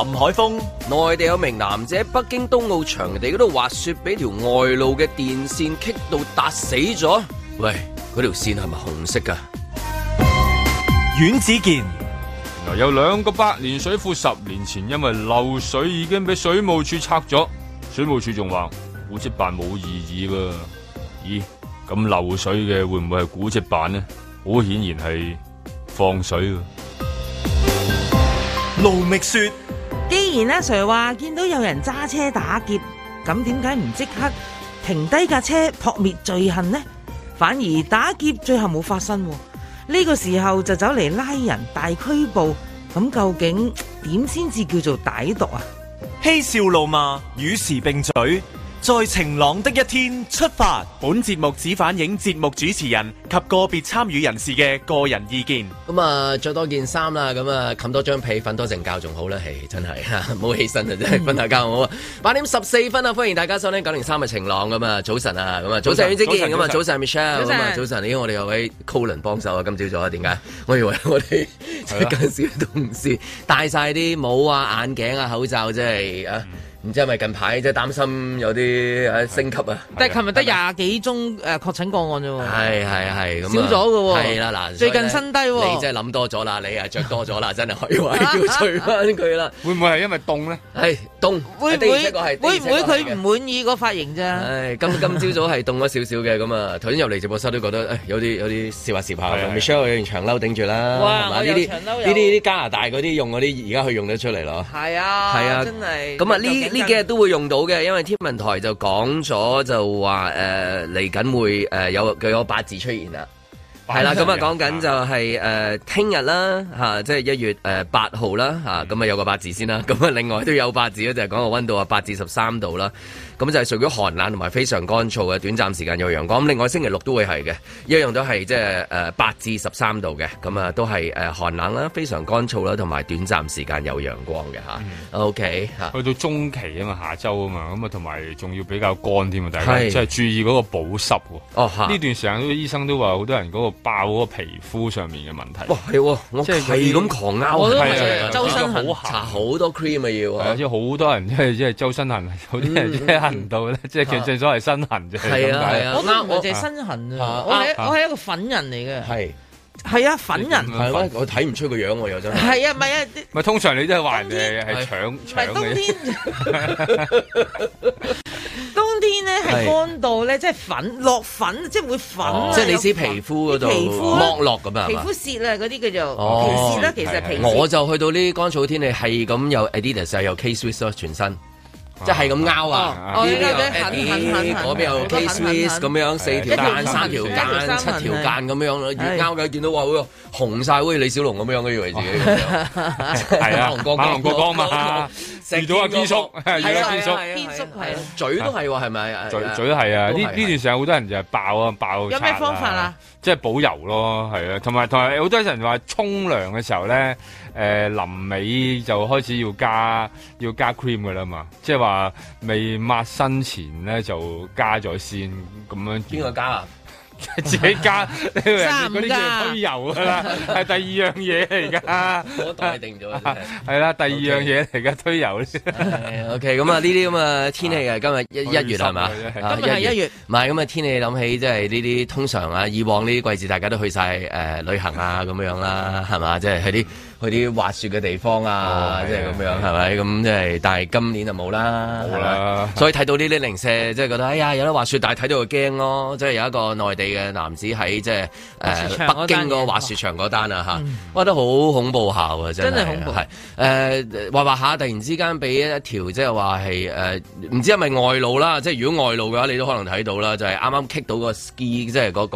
海峰， 內地有名男子喺北京冬奧場地嗰度滑雪，俾條外露嘅電線棘到達死咗。喂，嗰條線係咪紅色㗎？ 阮子健， 有2個百年水庫10年前因為漏水已經俾水務署拆咗，水務署仲話古蹟辦冇異議喎。咦，咁漏水嘅會唔會係古蹟辦呢？好顯然係放水喎。 盧覓雪， 既然阿 Sir 話見到有人揸車打劫，咁點解唔即刻停低架車撲滅罪行呢？反而打劫最後冇發生，呢個時候就走嚟拉人大拘捕，咁究竟點先至叫做歹毒啊？ 嬉笑怒罵與時並舉，在晴朗的一天出發。本節目只反映節目主持人及個別參與人士嘅個人意見。 咁啊，着多件衫啦，咁啊，冚多張被，瞓多陣覺仲好啦，係真係唔好起身啊，真係瞓下覺好啊。8點14分啊，歡迎大家收聽903嘅晴朗咁啊，早晨啊，咁啊，早晨袁子健，咁啊，早晨 Michelle， 咁啊，早晨，咦，我哋有位 Colin 幫手啊，今朝早啊，點解？我以為我哋近時嘅同事戴晒啲帽啊、眼鏡啊、口罩，即係啊。唔知係咪近排即係擔心有啲升級啊？ 但係琴日得20幾宗確診個案啫喎。 係咁少咗嘅喎。係啦，嗱， 最近新低喎。 你真係諗多咗啦，你着多咗啦，真係可以話要除翻佢啦。 會唔會係因為凍咧？ 係凍。會唔會佢唔滿意個髮型啫？ 今朝早係凍咗少少嘅，咁啊，頭先入嚟直播室都覺得有啲攝下。Michelle 有件長褸頂住啦。 哇！我有長褸。呢啲加拿大嗰啲用嗰啲，而家佢用得出嚟咯。 係啊，真係。 咁啊呢幾日都會用到嘅，因為天文台就講咗就話嚟緊會有八字出現啦，係啦，咁啊講緊就係聽日啦嚇，即係1月8號啦嚇，咁啊有個八字先啦，咁啊另外都有八字咧，就係講個溫度啊8至13度啦，咁就係屬於寒冷同埋非常乾燥嘅，短暫時間有陽光。咁另外星期六都會係嘅，一樣都係即係8至13度嘅，咁啊都係寒冷啦、非常乾燥啦，同埋短暫時間有陽光嘅嚇。OK 嚇， 去到中期啊嘛，下週啊嘛，咁啊同埋仲要比較乾添啊，大家即係注意嗰個保濕喎。哦，呢段時間啲醫生都話好多人嗰個爆嗰個皮膚上面嘅問題。哇，係喎，我係咁狂拗， 我都係周身痕， 搽好多 cream 啊要。 即係好多人即係周身痕，有啲人即係痕到咧，即係其實正所謂身痕啫。係啊， 我都唔係淨係身痕啊，我係一個粉人嚟嘅。係啊，粉人係咩？我睇唔出個樣喎，又真係。係啊，唔係啊， 咪通常你都係話人哋係搶嘅。 冬天，冬天咧係乾到咧，即係粉落粉，即係會粉。 即係你知皮膚嗰度剝落咁啊？ 皮膚屑啊，嗰啲叫做皮屑啦。其實皮屑。 我就去到呢啲乾燥天氣係咁，有 Adidas 有 K-Swiss 咯，全身。即係咁拗啊！呢邊嗰邊有 K-Swiss 咁樣4條間、3條間、7條間咁樣咯，越拗嘅見到話會紅曬，好似李小龍咁樣嘅以為自己咁樣。係啊， 馬龍過江嘛，遇到阿堅叔，遇到堅叔， 堅叔係嘴都係喎，係咪？ 嘴都係啊！呢段時間好多人就係爆。 有咩方法啊？ 即係保油咯，係啊，同埋好多人話沖涼嘅時候咧，臨尾就開始要加 cream 㗎啦嘛，即係話未抹身前咧就加咗先咁樣。 邊個加啊？ 自己加，嗰啲叫推油㗎啦，係第2樣嘢嚟㗎。 我代定咗， 係啦，第2樣嘢嚟㗎，推油。 OK，咁啊呢啲咁嘅天氣啊，今日1月係嘛？ 今日係1月。 唔係咁啊天氣諗起，即係呢啲通常啊，以往呢啲季節大家都去晒旅行啊咁樣啦，係嘛？即係去啲滑雪嘅地方啊，即係咁樣係咪？咁即係，但係今年就冇啦，係咪？所以睇到呢啲零舍，即係覺得哎呀有得滑雪，但係睇到就驚咯。即係有一個內地嘅男子喺即係北京個滑雪場嗰單啊嚇，我覺得好恐怖下啊，真係恐怖。係滑下，突然之間俾一條即係話係唔知係咪外露啦？即係如果外露嘅話，你都可能睇到啦，就係啱啱 kick 到個 ski，即係嗰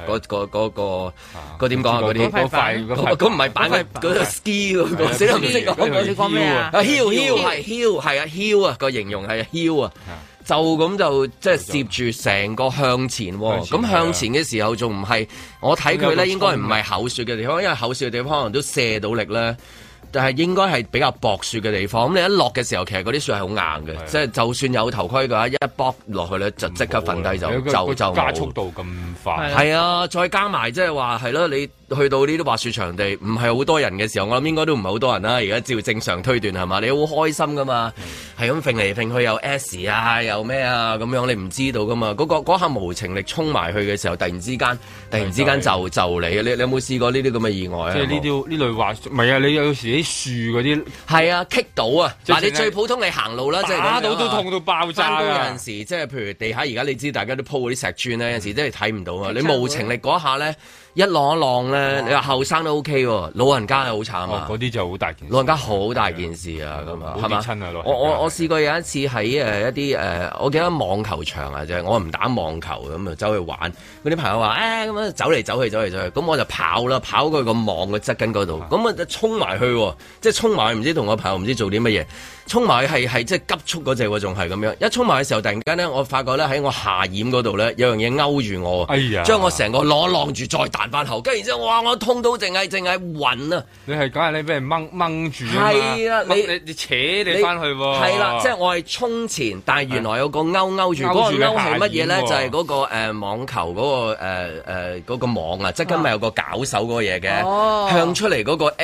點講啊？嗰啲嗰塊嗰唔係板嘅嗰ski 嗰個，死都唔識講。 你講咩啊 ？heel 啊，個形容係 heel 啊。就咁就即係攝住成個向前喎，咁向前嘅時候仲唔係？我睇佢咧應該唔係厚雪嘅地方，因為厚雪嘅地方可能都卸到力咧。 但係應該係比較薄雪嘅地方。咁你一落嘅時候，其實嗰啲雪係好硬嘅，即係就算有頭盔嘅話，一剝落去咧就即刻瞓低就加速度咁快。 係啊，再加埋即係話係咯，你去到呢啲滑雪場地唔係好多人嘅時候，我諗應該都唔係好多人啦。而家照正常推斷係嘛，你好開心噶嘛，係咁揈嚟揈去有 S 啊，有咩啊咁樣，你唔知道噶嘛。嗰下無情力衝埋去嘅時候，突然之間就你有冇試過呢啲咁嘅意外啊？ 即係呢類滑雪，唔係啊！你有時啲樹嗰啲係啊，棘到啊！嗱，你最普通你行路啦，即係打到都痛到爆炸。 有陣時即係譬如地下而家你知大家都鋪嗰啲石磚咧，有陣時真係睇唔到啊！你無情力嗰下咧。一浪一浪咧，你話後生都 OK 喎，老人家係好慘啊！ 嗰啲就好大件事， 老人家好大件事啊，咁啊，係嘛？我試過有一次喺一啲我記得網球場啊，就係我唔打網球咁啊，走去玩。嗰啲朋友話咁樣走嚟走去，咁我就跑啦，跑過去個網嘅側根嗰度，咁啊就衝埋去，即係衝埋去，唔知同個朋友唔知做啲乜嘢，衝埋去係即係急速嗰隻喎，仲係咁樣。一衝埋嘅時候，突然間咧，我發覺咧喺我下掩嗰度咧有樣嘢勾住我，將我成個晾住再打翻後，跟住然之後，哇！我痛到淨係暈啊！ 你係梗係你俾人掹住啊嘛！係啊，你扯你翻去喎！ 係啦，即係我係衝前，但係原來有個勾住，嗰個勾係乜嘢咧？就係嗰個網球嗰個嗰個網啊，即係今日有個絞手嗰個嘢嘅，向出嚟嗰個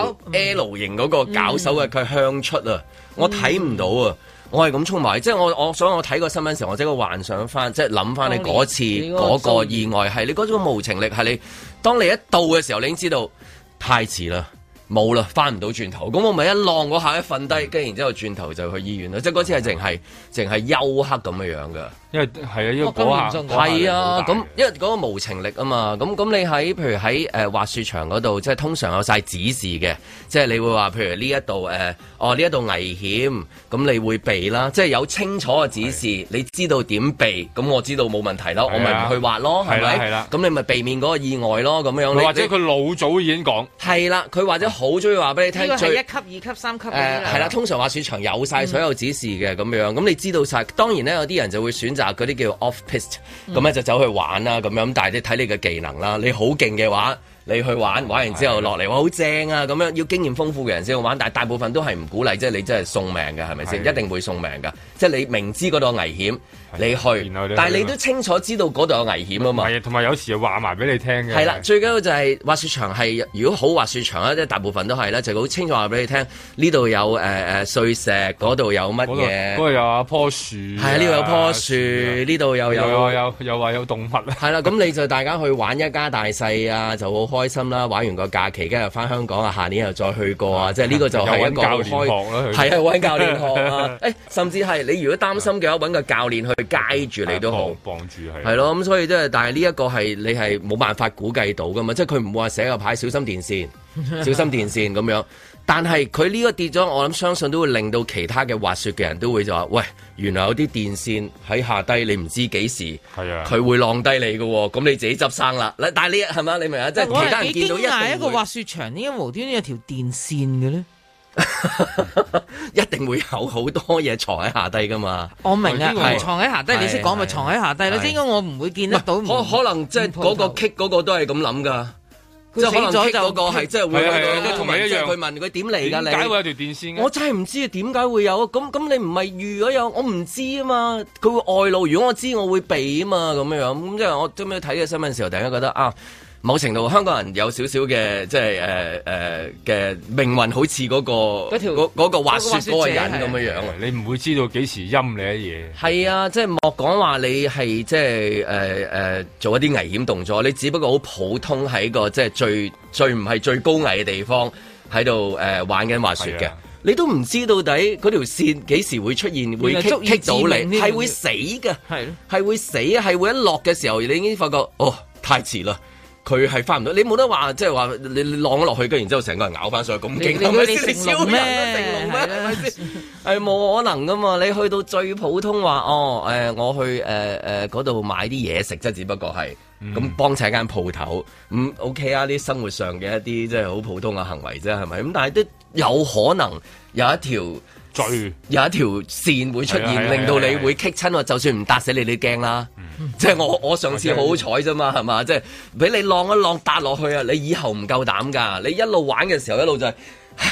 L 型嗰個絞手嘅，佢向出啊！我睇唔到啊！我係咁衝埋，即係所以我睇個新聞時候，我即刻幻想翻，即係諗翻你嗰次嗰個意外係你嗰種無情力，係你當你一到嘅時候，你已經知道太遲啦，冇啦，翻唔到轉頭。咁我咪一浪嗰下一瞓低，跟住然之後轉頭就去醫院啦。即係嗰次係淨係休克咁嘅樣噶。因為係啊，因為嗰下係啊，咁因為嗰個無情力啊嘛，咁你喺譬如喺滑雪場嗰度，即係通常有晒指示嘅，即係你會話譬如呢一度呢一度危險，咁你會避啦，即係有清楚嘅指示，你知道點避，咁我知道冇問題啦，我咪唔去滑咯，係咪？係啦，咁你咪避免嗰個意外咯，咁樣。或者佢老早已經講係啦，佢或者好中意話俾你聽，呢個係1級、2級、3級係啦，通常滑雪場有晒所有指示嘅咁樣，咁你知道晒。當然咧，有啲人就會選擇嗰啲叫 off piste，咁咧就走去玩啦，咁樣，但係你睇你嘅技能啦，你好勁嘅話，你去玩完之後落嚟，哇好正啊，咁樣要經驗豐富嘅人先去玩，但係大部分都係唔鼓勵，即係你真係送命嘅，係咪先？一定會送命㗎，即係你明知嗰度危險，你去，但係你都清楚知道嗰度有危險啊嘛。係啊，同埋有時又話埋俾你聽嘅。係啦，最緊要就係滑雪場係，如果好滑雪場咧，即係大部分都係咧，就好清楚話俾你聽，呢度有碎石，嗰度有乜嘢，嗰度有棵樹，係啊，呢度有棵樹，呢度又話有動物。係啦，咁你就大家去玩一家大細啊，就好開心啦！玩完個假期，跟住翻香港啊，下年又再去過啊！即係呢個就係一個開，係啊，揾教練學啊！甚至係你如果擔心嘅話，揾個教練去街住你都好，幫住係咯。咁所以即係，但係呢一個係你係冇辦法估計到噶嘛？即係佢唔會話寫個牌小心電線，小心電線咁樣。但係佢呢個跌咗，我諗相信都會令到其他嘅滑雪嘅人都會就話：喂，原來有啲電線喺下低，你唔知幾時，係啊，佢會晾低你嘅喎，咁你自己執生啦。但係你係嘛？你明啊？即係其他人見到一個滑雪場點解無端端有條電線嘅咧？一定會有好多嘢藏喺下低噶嘛。我明啊，藏喺下低，你識講咪藏喺下低咯？即係應該我唔會見得到。可能即係嗰個 kick 嗰個都係咁諗噶。即係可能咗就嗰個係即係會同埋一樣，佢問佢點嚟㗎？你點解會有條電線？我真係唔知點解會有。咁你唔係預咗有，我唔知啊嘛。佢會外露，如果我知我會避啊嘛。咁樣咁即係我今日睇嘅新聞時候，突然間覺得啊，某程度香港人有少少嘅即係嘅命運，好似嗰個滑雪嗰個人咁樣樣。你唔會知道幾時陰你一嘢。係啊，即係莫講話你係即係做一啲危險動作，你只不過好普通喺個即係最唔係最高危嘅地方喺度玩緊滑雪嘅，你都唔知到底嗰條線幾時會出現，會棘到你，係會死嘅，係會死啊，係會一落嘅時候，你已經發覺哦，太遲啦。佢係翻唔到，你冇得話，即係話你浪咗落去，跟然之後成個人咬翻上去咁勁，係咪先？成龍咩？係咪先？係冇可能噶嘛！你去到最普通話，我去嗰度買啲嘢食啫，只不過係咁幫襯間鋪頭，咁 OK 啊！啲生活上嘅一啲即係好普通嘅行為啫，係咪？咁但係都有可能有一條線會出現，令到你會棘親，就算唔搭死你，你驚啦。即係我上次好彩啫嘛，係嘛？即係俾你浪一浪搭落去啊！你以後唔夠膽㗎，你一路玩嘅時候一路就係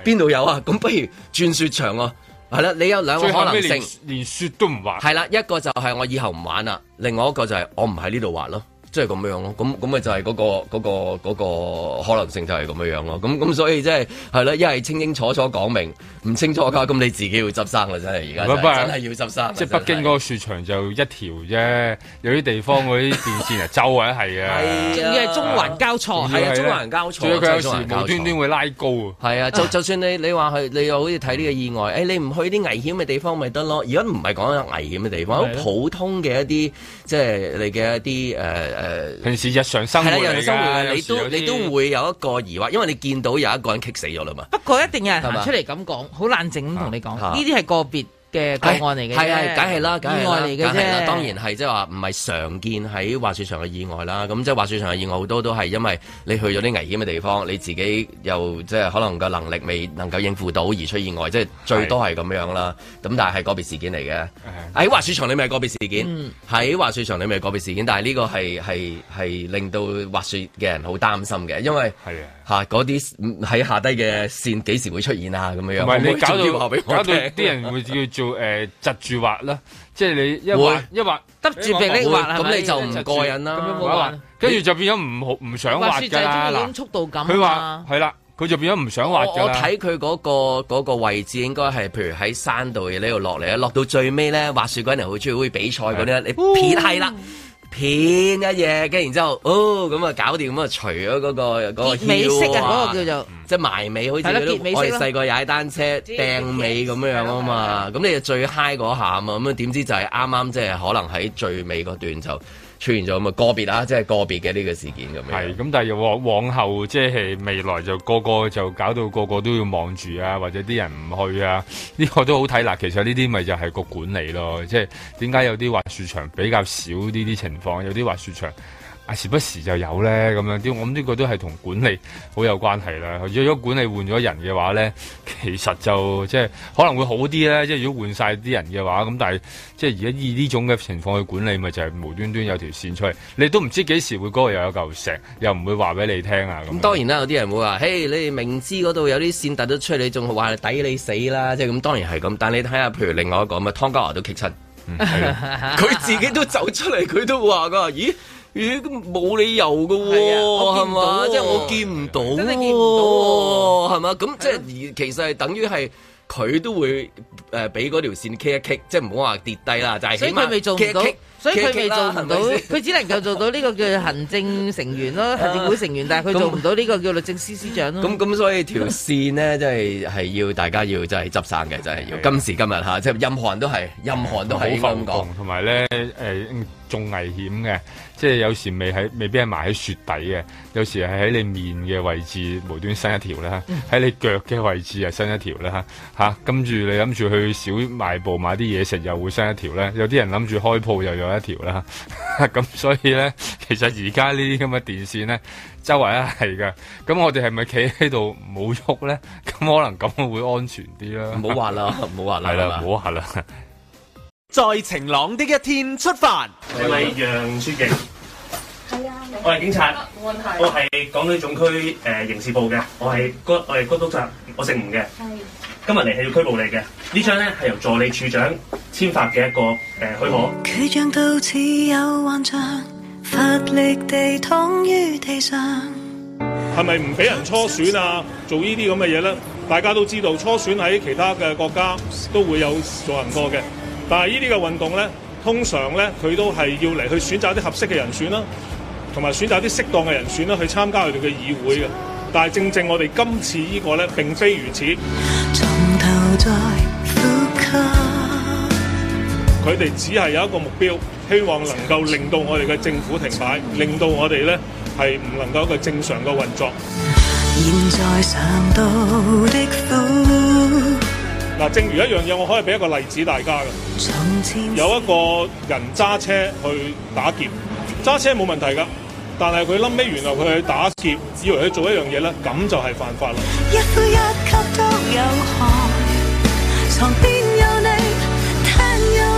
邊度有啊？咁不如轉雪場啊？係啦，你有兩個可能性， 連雪都唔滑。 係啦，一個就係我以後唔玩啦，另外一個就係我唔喺呢度滑咯。即係咁樣咯，咁咪就係嗰個可能性就係咁樣咯，咁所以即係啦，一係清清楚楚講明，唔清楚㗎，咁你自己要執生啦，真係而家真係要執生。 即係北京嗰個雪場就一條啫，有啲地方嗰啲電線啊，周圍係啊， 仲要係中環交錯， 係啊，中環交錯， 仲有佢有時無端端會拉高啊。 係啊，就算你話去，你又好似睇呢個意外，你唔去啲危險嘅地方咪得咯？而家唔係講緊危險嘅地方，好普通嘅一啲即係你嘅一啲平時日常生活嚟㗎， 你都會有一個疑惑，因為你見到有一個人棘死咗啦嘛。 不過一定有人行出嚟咁講，好冷靜咁同你講，呢啲係個別嘅個案嚟嘅， 係啊，梗係啦， 意外嚟嘅啫。 當然係即係話唔係常見喺滑雪場嘅意外啦。咁即係滑雪場嘅意外好多都係因為你去咗啲危險嘅地方，你自己又即係可能個能力未能夠應付到而出意外，即係最多係咁樣啦。咁但係個別事件嚟嘅。喺滑雪場你咪係個別事件，喺滑雪場你咪係個別事件。但係呢個係令到滑雪嘅人好擔心嘅，因為嗰啲喺下低嘅線幾時會出現啊？咁樣。 唔係你搞到啲人會叫做窒住滑啦，即係你一滑得住鼻力滑， 咁你就唔過癮啦。 咁樣冇玩， 跟住就變咗唔想滑㗎啦。 嗱，速度感。 佢話係啦，佢就變咗唔想滑㗎啦。 我睇佢嗰個位置應該係，譬如喺山度嘅呢度落嚟咧，落到最尾咧，滑雪嗰人好中意好似比賽嗰啲，你撇係啦。片一嘢，跟然之後，咁啊搞掂，咁啊除咗嗰個尾式啊，嗰個叫做即係埋尾，好似我哋細個踩單車掟尾咁樣啊嘛，咁你就最 high 嗰下啊嘛，咁啊點知就係啱啱即係可能喺最尾嗰段就出現咗咁啊個別啊，即係個別嘅呢個事件咁樣。 係咁，但係往後即係未來就個個就搞到個個都要望住啊，或者啲人唔去啊，呢個都好睇啦。其實呢啲咪就係個管理咯，即係點解有啲滑雪場比較少呢啲情況，有啲滑雪場時不時就有咧咁樣啲，我諗呢個都係同管理好有關係啦。如果管理換咗人嘅話咧，其實就即係可能會好啲咧。即係如果換晒啲人嘅話，咁但係即係而家以呢種嘅情況去管理，咪就係無端端有條線出嚟，你都唔知幾時會嗰個又有嚿石，又唔會話俾你聽啊。咁當然啦，有啲人會話，嘿，你哋明知嗰度有啲線突咗出嚟，你仲話抵你死啦，即係咁。當然係咁，但你睇下，譬如另外一個咁啊，湯家驊都棘親，佢自己都走出嚟，佢都話㗎，咦？冇理由㗎喎，係嘛？即係我見唔到， 真係見唔到喎， 係嘛？咁即係其實係等於係佢都會俾嗰條線棘一棘，即係唔好話跌低啦，就係起碼棘一棘。所以佢未做唔到，所以佢未做唔到，佢只能夠做到呢個叫行政成員咯，行政會成員，但係佢做唔到呢個叫律政司司長咯。咁所以條線呢，即係要大家要真係執生嘅，真係要今時今日嚇，即係任何人都係應該咁講， 同埋咧仲危險嘅，即係有時未必係埋喺雪底嘅，有時係喺你面嘅位置無端伸一條啦，喺你腳嘅位置又伸一條啦嚇，跟住你諗住去小賣部買啲嘢食又會伸一條咧，有啲人諗住開鋪又有一條啦，咁所以咧，其實而家呢啲咁嘅電線咧，周圍都係㗎，咁我哋係咪企喺度冇喐咧？咁可能咁會安全啲啦。 唔好話啦，唔好話啦， 係啦，唔好話啦。 在晴朗的一天出發。 你係楊書記？ 係啊， 我係警察。 冇問題。 我係港島總區刑事部嘅，我係高督察，我姓吳嘅。 係。 今日嚟係要拘捕你嘅。呢張咧係由助理處長簽發嘅一個許可。 佢像到似有幻象，乏力地躺於地上。 係咪唔俾人初選啊？做呢啲咁嘅嘢咧？大家都知道初選喺其他嘅國家都會有進行過嘅。但係呢啲嘅運動咧，通常咧佢都係要嚟去選擇啲合適嘅人選啦，同埋選擇啲適當嘅人選啦，去參加佢哋嘅議會嘅。但係正我哋今次呢個咧並非如此。從頭再呼吸，佢哋只係有一個目標，希望能夠令到我哋嘅政府停擺，令到我哋咧係唔能夠一個正常嘅運作。現在嘗到的苦。嗱，正如一樣嘢，我可以俾一個例子大家嘅。有一個人揸車去打劫，揸車冇問題㗎，但係佢臨尾原來佢去打劫，以為佢做一樣嘢咧，咁就係犯法啦。一呼一吸都有害，床邊有你，聽有你。因為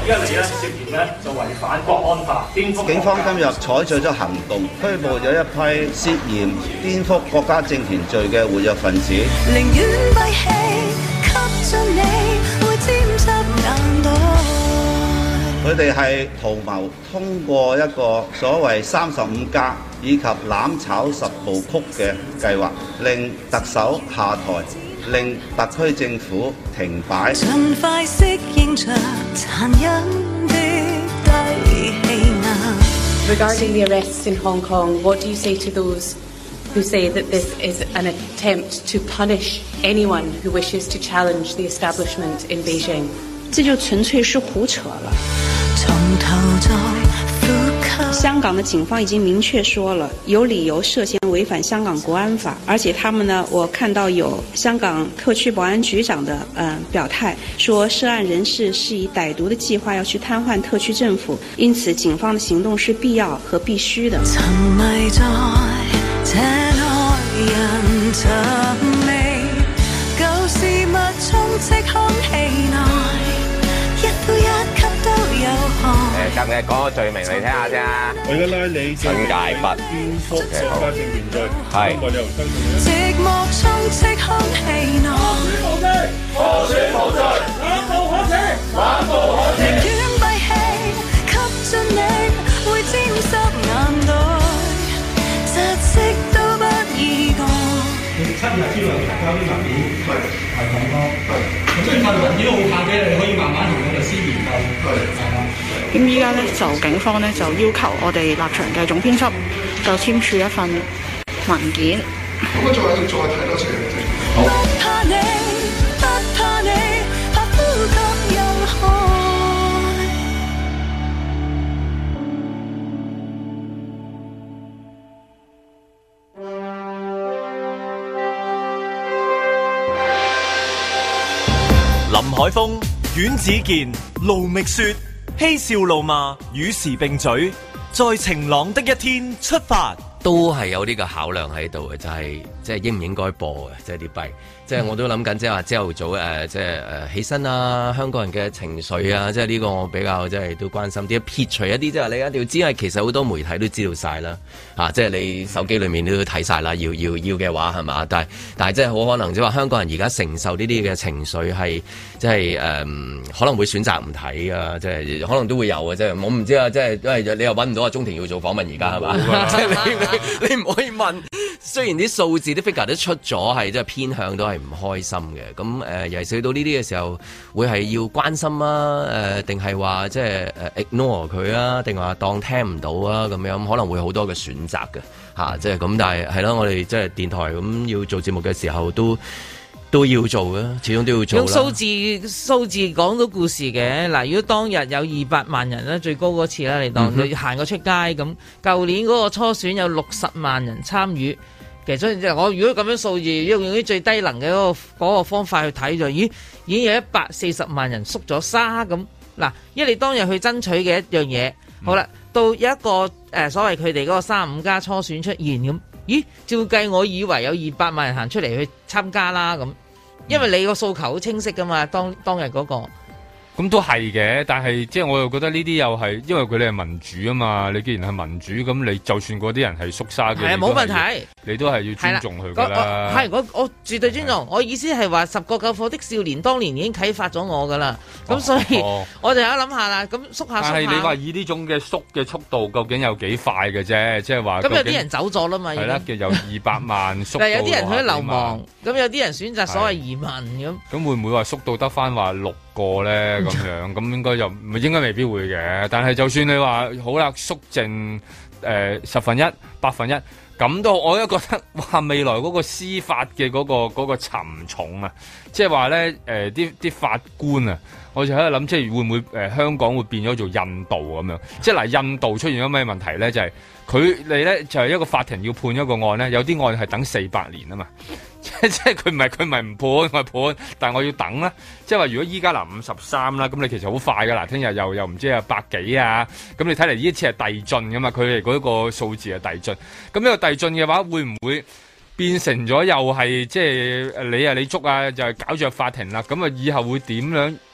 依家你咧涉嫌咧就違反國安法，顛覆。 警方今日採取咗行動，拘捕咗一批涉嫌顛覆國家政權罪嘅活躍分子。 寧願閉氣，吸進你會沾濕眼袋。 佢哋係圖謀通過一個所謂35+以及攬炒10部曲嘅計劃，令特首下台，令特區政府停擺。 盡快適應着殘忍的低氣壓。 Regarding the arrests in Hong Kong, what do you say to those who say that this is an attempt to punish anyone who wishes to challenge the establishment in Beijing? 這就純粹是胡扯了。 從頭再呼吸。 香港的警方已經明確說了，有理由涉嫌違反香港國安法，而且他們呢，我看到有香港特區保安局長的表態，說涉案人士是以歹毒的計劃要去癱瘓特區政府，因此警方的行動是必要和必須的。 沉迷在這愛人尋味，舊事物充斥空氣內。 近日講個罪名嚟聽下先啊！ 我而家拉你新界北顛覆國家政權罪， 係。 寂寞充斥空氣內， 無罪，冷暴可耻，冷暴可耻。 寧願閉氣，吸進你會沾濕眼袋，窒息都不意覺。 7日之內提交啲文件係咁咯，咁所以份文件都好怕嘅，你可以慢慢同個律師研究。 咁依家咧就警方咧就要求我哋立場嘅總編輯就簽署一份文件。 咁再睇多次。好。 不怕你，不怕你，怕呼吸有害。 林海峰、阮子健、盧覓雪，嬉笑怒罵，與時並舉，在晴朗的一天出發， 都係有呢個考量喺度嘅，就係即係應唔應該播嘅，即係啲弊。即係我都諗緊，即係話朝頭早即係起身啊，香港人嘅情緒啊，即係呢個我比較即係都關心啲。撇除一啲即係你一定要知，係其實好多媒體都知道晒啦，即係你手機裏面都睇晒啦，要嘅話係嘛？但係即係好可能即係話香港人而家承受呢啲嘅情緒係即係可能會選擇唔睇啊，即係可能都會有嘅，即係我唔知啊，即係因為你又揾唔到阿鍾庭要做訪問而家係嘛？即係你唔可以問。雖然啲數字啲 figure 都出咗，係即係偏向都係唔開心嘅。咁尤其是到呢啲嘅時候，會係要關心啊？定係話即係ignore 佢啊？定話當聽唔到啊？咁樣可能會好多嘅選擇嘅嚇，即係咁。但係係咯，我哋即係電台咁要做節目嘅時候都要做嘅，始終都要做啦。 用數字講到故事嘅嗱，如果當日有200萬人啦，最高嗰次啦，你當你行過出街咁，舊年嗰個初選有60萬人參與。其實所以我如果咁樣數字，用啲最低能嘅嗰個方法去睇就，已經有140萬人縮咗沙咁嗱。因為你當日去爭取嘅一樣嘢，好啦，到有一個所謂佢哋嗰個35+初選出現咁，咦？照計我以為有200萬人行出嚟去參加啦咁，因為你個訴求好清晰噶嘛，當日嗰個。 咁都係嘅，但係即係我又覺得呢啲又係，因為佢哋係民主啊嘛。你既然係民主，咁你就算嗰啲人係縮沙嘅，係冇問題，你都係要尊重佢噶啦。係我絕對尊重。我意思係話10個救火的少年當年已經啟發咗我噶啦。咁所以我就有諗下啦。咁縮下。但係你話以呢種嘅縮嘅速度，究竟有幾快嘅啫？即係話咁有啲人走咗啦嘛。係啦，由200萬縮到。但係有啲人去流亡，咁有啲人選擇所謂移民咁。咁會唔會話縮到得翻話6個咧咁樣？咁應該就應該未必會嘅。但係就算你話好啦，縮剩1/10、1/8，咁都我都覺得話未來嗰個司法嘅嗰個沉重啊，即係話咧啲法官啊，我就喺度諗，即係會唔會香港會變咗做印度咁樣？即係嗱，印度出現咗咩問題咧？就係佢哋咧就係一個法庭要判一個案咧，有啲案係等400年啊嘛。即係佢唔判，我判，但係我要等啦。即係話如果依家53啦，咁你其實好快噶啦，聽日又唔知啊100幾啊，咁你睇嚟呢一次係遞進噶嘛，佢哋嗰個數字係遞進。咁呢個遞進嘅話，會唔會變成咗又係即係你捉啊，就係搞着法庭啦？咁啊以後會點樣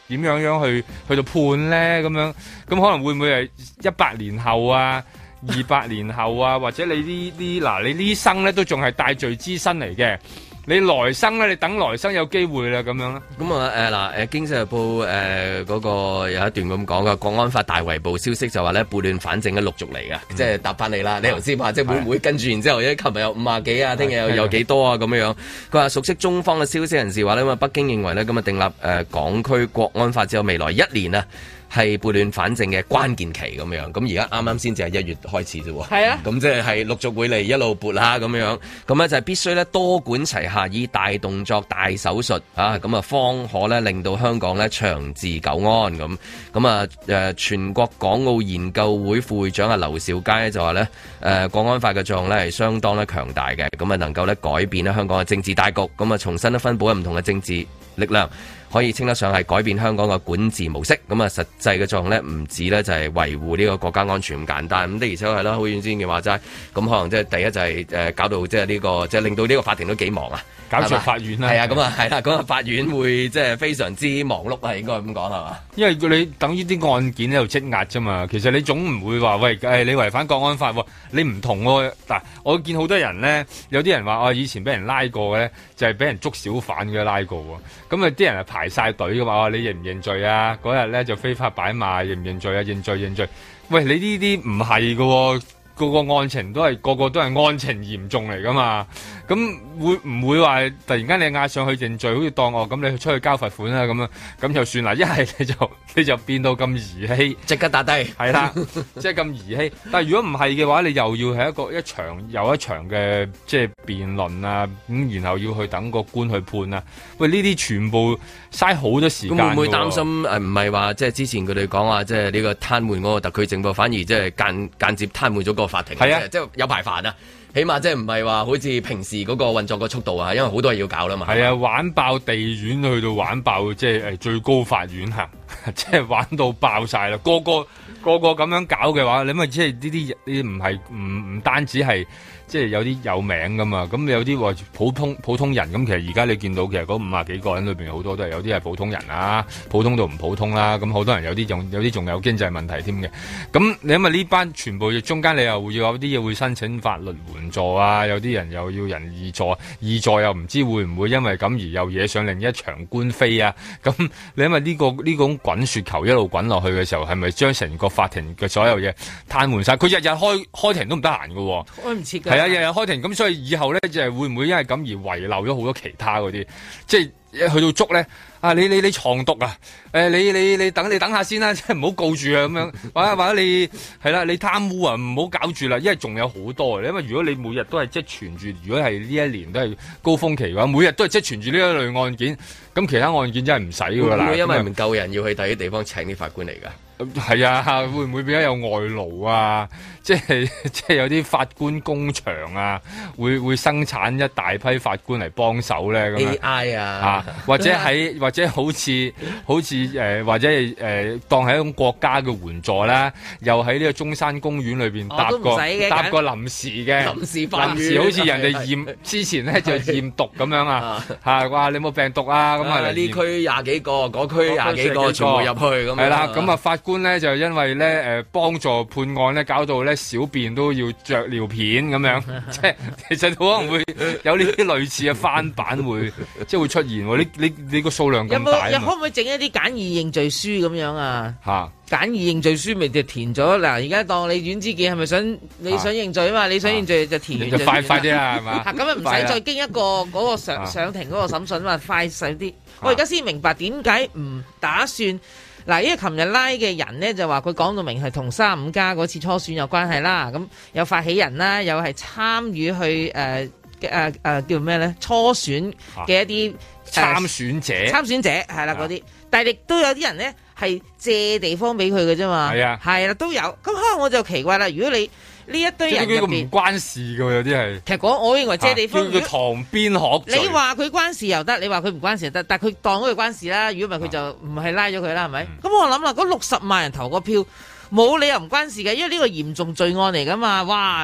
點樣去到判咧？咁樣咁可能會唔會係100年後啊、200年後啊，或者你呢啲生咧都仲係帶罪之身嚟嘅。你來生咧，你等來生有機會啦，咁樣啦。 咁啊《經濟日報》嗰個有一段咁講嘅，國安法大圍捕消息就話咧撥亂反正嘅陸續嚟嘅，即係答翻你啦。你頭先話即係會唔會跟住，然之後咧，琴日有50幾啊，聽日又有幾多啊咁樣。佢話熟悉中方嘅消息人士話咧，咁啊北京認為咧，咁啊訂立港區國安法之後，未來1年啊。係撥亂反正嘅關鍵期咁樣，咁而家啱啱先至係1月開始啫喎。係啊，咁即係陸續會嚟一路撥啦咁樣，咁咧就係必須咧多管齊下，以大動作、大手術啊，咁啊方可咧令到香港咧長治久安咁。咁啊全國港澳研究會副會長啊劉兆佳咧就話咧國安法嘅作用咧係相當咧強大嘅，咁啊能夠咧改變咧香港嘅政治大局，咁啊重新咧分佈喺唔同嘅政治力量。可以稱得上係改變香港嘅管治模式，咁啊實際嘅作用咧唔止咧就係維護呢個國家安全咁簡單，咁的而且確係啦，好遠先嘅話齋，咁可能即係第一就係搞到即係呢個即係令到呢個法庭都幾忙啊， 搞錯法院啦， 係啊，咁啊係啦，咁啊法院會即係非常之忙碌啊，應該咁講係嘛？因為你等於啲案件喺度積壓啫嘛，其實你總唔會話喂你違反國安法喎，你唔同喎嗱，我見好多人咧，有啲人話以前俾人拉過嘅咧，就係俾人捉小販嘅拉過喎，咁啊啲人係排晒隊嘅嘛，你認唔認罪啊？嗰日咧就非法擺賣，認唔認罪啊？認罪。喂，你呢啲唔係嘅，個案情都係個個都係案情嚴重嚟噶嘛？咁會唔會話突然間你押上去認罪，好似當咁你出去交罰款啦咁樣，咁就算啦。一係你就變到咁兒戲， 即刻打低， 係啦，即係咁兒戲。但係如果唔係嘅話，你又要係一場又一場嘅即係辯論啊，咁然後要去等個官去判啊。喂，呢啲全部嘥好多時間。 咁會唔會擔心唔係話即係之前佢哋講話即係呢個癱瘓嗰個特區政府，反而即係間接癱瘓咗個法庭？係啊，即係有排煩啊。起碼即係唔係話好似平時嗰個運作個速度啊，因為好多嘢要搞啦嘛。係啊，玩爆地院去到玩爆即係最高法院行，即係玩到爆晒啦。個個咁樣搞嘅話，你咪即係呢啲唔係唔單止係即係有啲有名噶嘛。咁有啲話普通人咁，其實而家你見到其實嗰50幾個人裏邊好多都係有啲係普通人啊，普通到唔普通啦。咁好多人有啲仲有經濟問題添嘅。咁你因為呢班全部中間你又要有啲嘢會申請法律援助啊，有啲人又要人義助，義助又唔知會唔會因為咁而又惹上另一場官非啊。咁你因為呢種滾雪球一路滾落去嘅時候，係咪將成個法庭嘅所有嘢癱瘓晒？佢日日開庭都唔得閒㗎，開唔切㗎。係啊，日日開庭，咁所以以後咧就係會唔會因為咁而遺漏咗好多其他嗰啲，即係去到捉咧啊！你藏毒啊？你等下先啦，即係唔好告住啊咁樣。或者你係啦，你貪污啊，唔好搞住啦，因為仲有好多。因為如果你每日都係積存住，如果係呢一年都係高峰期嘅話，每日都係積存住呢一類案件，咁其他案件真係唔使㗎啦。會唔會因為唔夠人要去第啲地方請啲法官嚟㗎？係啊，會唔會比較有外勞啊？即係有啲法官工場啊，會生產一大批法官嚟幫手咧咁 AI 啊， 或者好似或者係當係一種國家嘅援助啦，又喺呢個中山公園裏邊搭個臨時嘅臨時好似人哋驗之前咧就驗毒咁樣啊，話你有冇病毒啊？咁啊呢區20幾個，嗰區20幾個全部入去咁。係啦， 咁啊法官咧就因為咧幫助判案咧，搞到咧小便都要着尿片咁樣，即係其實可能會有呢啲類似嘅翻版會即係會出現。你個數量咁大， 可唔可以整一啲簡易認罪書咁樣啊？ 嚇！ 簡易認罪書咪就填咗嗱，而家當你阮之健係咪你想認罪啊嘛？你想認罪就填完就快啲啦，係嘛？ 咁啊唔使再經一個嗰個上庭嗰個審訊嘛，快細啲。我而家先明白點解唔打算嗱，因為琴日拉嘅人呢，就話佢講到明係同35+嗰次初選有關係啦，咁有發起人啦，又係參與去叫咩咧？初選嘅一啲參選者係啦嗰啲，但係亦都有啲人咧係借地方俾佢嘅啫嘛，係啦都有。咁可能我就奇怪啦，如果你呢一堆人入邊唔關事嘅，有啲係其實我認為借地方叫堂邊學罪。 你話佢關事又得，你話佢唔關事又得，但係佢當咗佢關事啦。如果唔係佢就唔係拉咗佢啦，係咪？咁我諗啦，嗰60萬人投個票，冇理由唔關事嘅，因為呢個嚴重罪案嚟噶嘛。哇！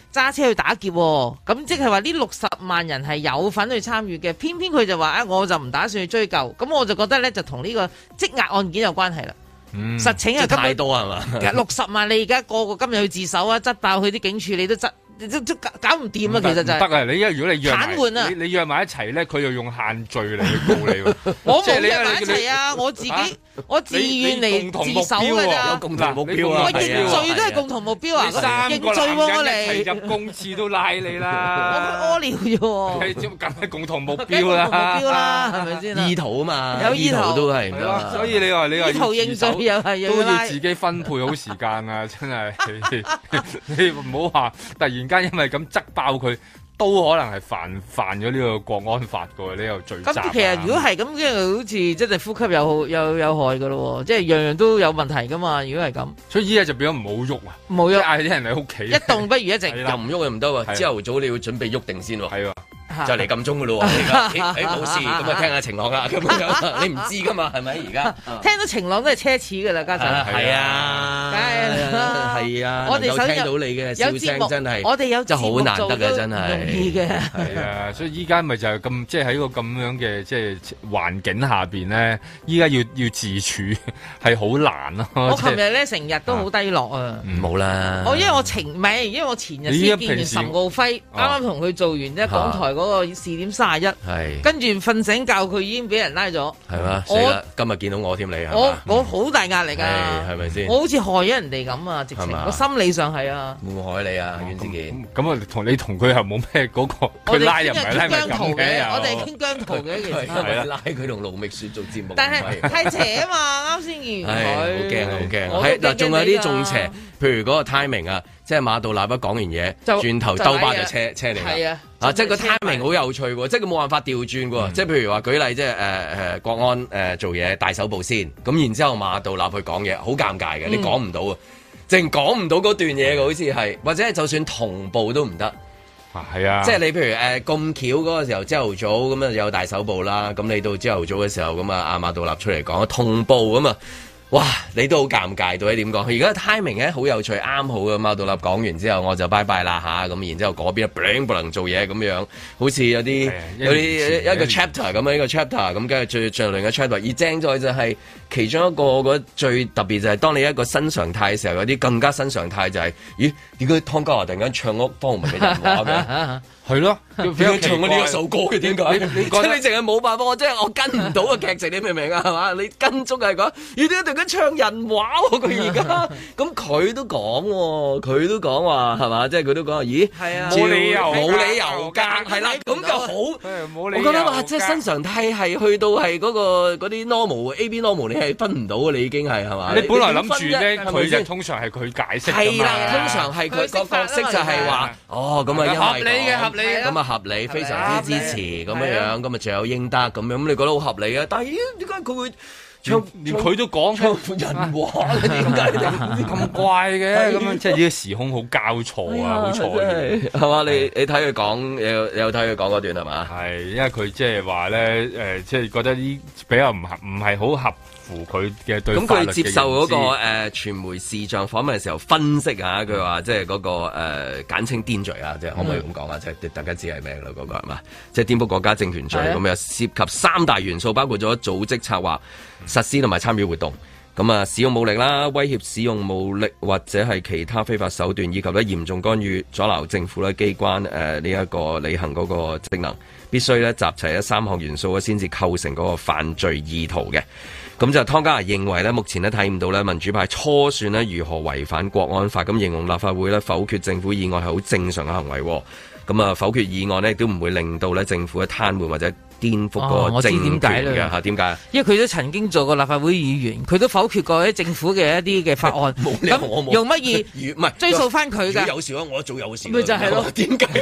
揸車去打劫，咁即係話呢60萬人係有份去參與嘅，偏偏佢就話我就唔打算去追究，咁我就覺得咧就同呢個積壓案件有關係啦。實情係太多係嘛 ？60萬你而家個今日去自首啊，執爆佢啲警署，你都執。都搞唔掂啊！其實就係得啊！你如果你約癱瘓啊， 你約埋一齊咧，佢又用限聚嚟去告你喎。 我冇約埋一齊啊！我自願嚟自首㗎咋， 有共同目標啊！ 我認罪都係共同目標啊！認罪喎，我嚟一齊入公廁都拉你啦！ 我屙尿啫喎， 梗係共同目標啦， 係咪先？ 意圖啊嘛， 有意圖都係係咯。所以你話意圖認罪又係都要自己分配好時間啊！真係你唔好話突然間因為咁執爆佢，都可能係犯咗呢個國安法嘅呢個罪責。 咁其實如果係咁，即係好似真係呼吸有害嘅咯，即係樣樣都有問題噶嘛。如果係咁， 所以依家就變咗唔好喐啊！ 唔好喐， 嗌啲人喺屋企一動不如一靜， 又唔喐又唔得喎。朝頭早你要準備喐定先喎。 係喎。 就嚟撳鐘嘅咯喎，而家冇事，咁啊聽下晴朗啦，咁樣你唔知噶嘛，係咪而家？ 聽到晴朗都係奢侈嘅啦，家陣。 係啊，係啊， 我哋能夠聽到你嘅笑聲真係， 我哋有真係好難得嘅，真係。 容易嘅。 係啊，所以依家咪就係咁，即係喺個咁樣嘅即係環境下邊咧，依家要自處係好難咯。 我琴日咧成日都好低落啊。 冇啦。 因為我前日先見完岑敖暉，啱啱同佢做完即係港台嗰個試點31，跟住瞓醒覺佢已經俾人拉咗，係嘛？ 今日見到我添，你係我好大壓力㗎， 係咪先？ 我好似害咗人哋咁啊！直情我心理上係啊， 會唔會害你啊？袁子健咁啊，同佢係冇咩嗰個，佢拉又唔係拉咪咁嘅， 我哋傾姜濤嘅其實係拉佢同盧覓雪做節目， 但係太邪啊嘛！啱先見完佢， 好驚！係嗱，仲有啲仲邪，譬如嗰個 timing 啊。即係馬道立講完嘢，轉頭兜巴就車你啦。即係個 timing 好有趣喎，即係佢冇辦法調轉喎。即係譬如話舉例，即係國安做嘢大手部先，咁然之後馬道立去講嘢，好尷尬嘅，你講唔到啊，淨講唔到嗰段嘢嘅，好似係，或者係就算同步都唔得。 係啊， 即係你譬如咁巧嗰個時候朝頭早咁啊有大手部啦，咁你到朝頭早嘅時候咁啊阿馬道立出嚟講同步咁啊。哇！你都好尷尬，到底點講？而家 timing 咧好有趣，啱好嘅馬道立講完之後，我就拜拜啦嚇，咁然之後嗰邊不能做嘢咁樣，好似有啲一個 chapter 咁樣，一個 chapter 咁，跟住最另一個 chapter。而正在就係其中一個最特別就係當你一個新常態嘅時候，有啲更加新常態就係，咦？點解湯家驊突然間唱屋方文嘅人話嘅？係咯，點解唱呢一首歌嘅？點解？你淨係冇辦法，我跟唔到個劇情，你明唔明啊？係嘛？你跟足係講，咦？點解突然間唱人話喎？佢而家咁佢都講喎，佢都講話係嘛？即係佢都講話，咦？係啊，冇理由㗎，係啦，咁就好。我覺得話即係新常態係去到係嗰啲 normal AB normal， 你係分唔到嘅，你已經係嘛？ 你本來諗住咧，佢就通常係佢解釋㗎嘛。係啦， 通常係佢個角色就係話，哦咁啊，因為合理嘅。 咁啊合理，非常之支持咁樣，咁啊罪有應得咁樣，咁你覺得好合理啊？但係點解佢會連佢都講唱人話咧？點解咁怪嘅？咁樣即係呢個時空好交錯啊，好錯嘅係嘛？你睇佢講，有睇佢講嗰段係嘛？ 係因為佢即係話咧，即係覺得呢比較唔係好合乎佢嘅對法律嘅認知。咁佢接受嗰個傳媒視像訪問嘅時候分析下，佢話即係嗰個簡稱顛罪啊，即係可唔可以咁講啊？即係大家知係咩啦？嗰個係嘛？即係顛覆國家政權罪咁樣，涉及3大元素，包括咗組織策劃、實施同埋參與活動。咁啊，使用武力啦，威脅使用武力或者係其他非法手段，以及咧嚴重干預阻撓政府咧機關呢一個履行嗰個職能，必須咧集齊咗3項元素先至構成嗰個犯罪意圖嘅。咁就湯家驊認為咧，目前咧睇唔到咧民主派初選咧如何違反國安法，咁形容立法會咧否決政府議案係好正常嘅行為。咁啊，否決議案呢亦都唔會令到咧政府嘅癱瘓或者顛覆個政權嘅嚇。點解？因為佢都曾經做過立法會議員，佢都否決過啲政府嘅一啲嘅法案。咁用乜嘢？唔係追溯翻佢㗎。有事啊，我做有事。咪就係咯？點解？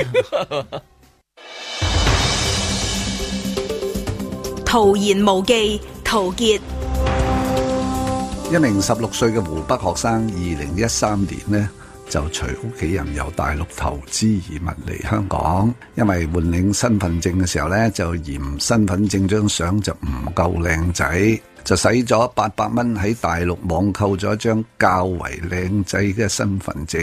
徒言無忌，陶傑。 一名16歲嘅湖北學生，2013年呢就隨屋企人由大陸投資移民嚟香港，因為換領身份證嘅時候呢，就嫌身份證張相就唔夠靚仔，就使咗800蚊喺大陸網購咗一張較為靚仔嘅身份證。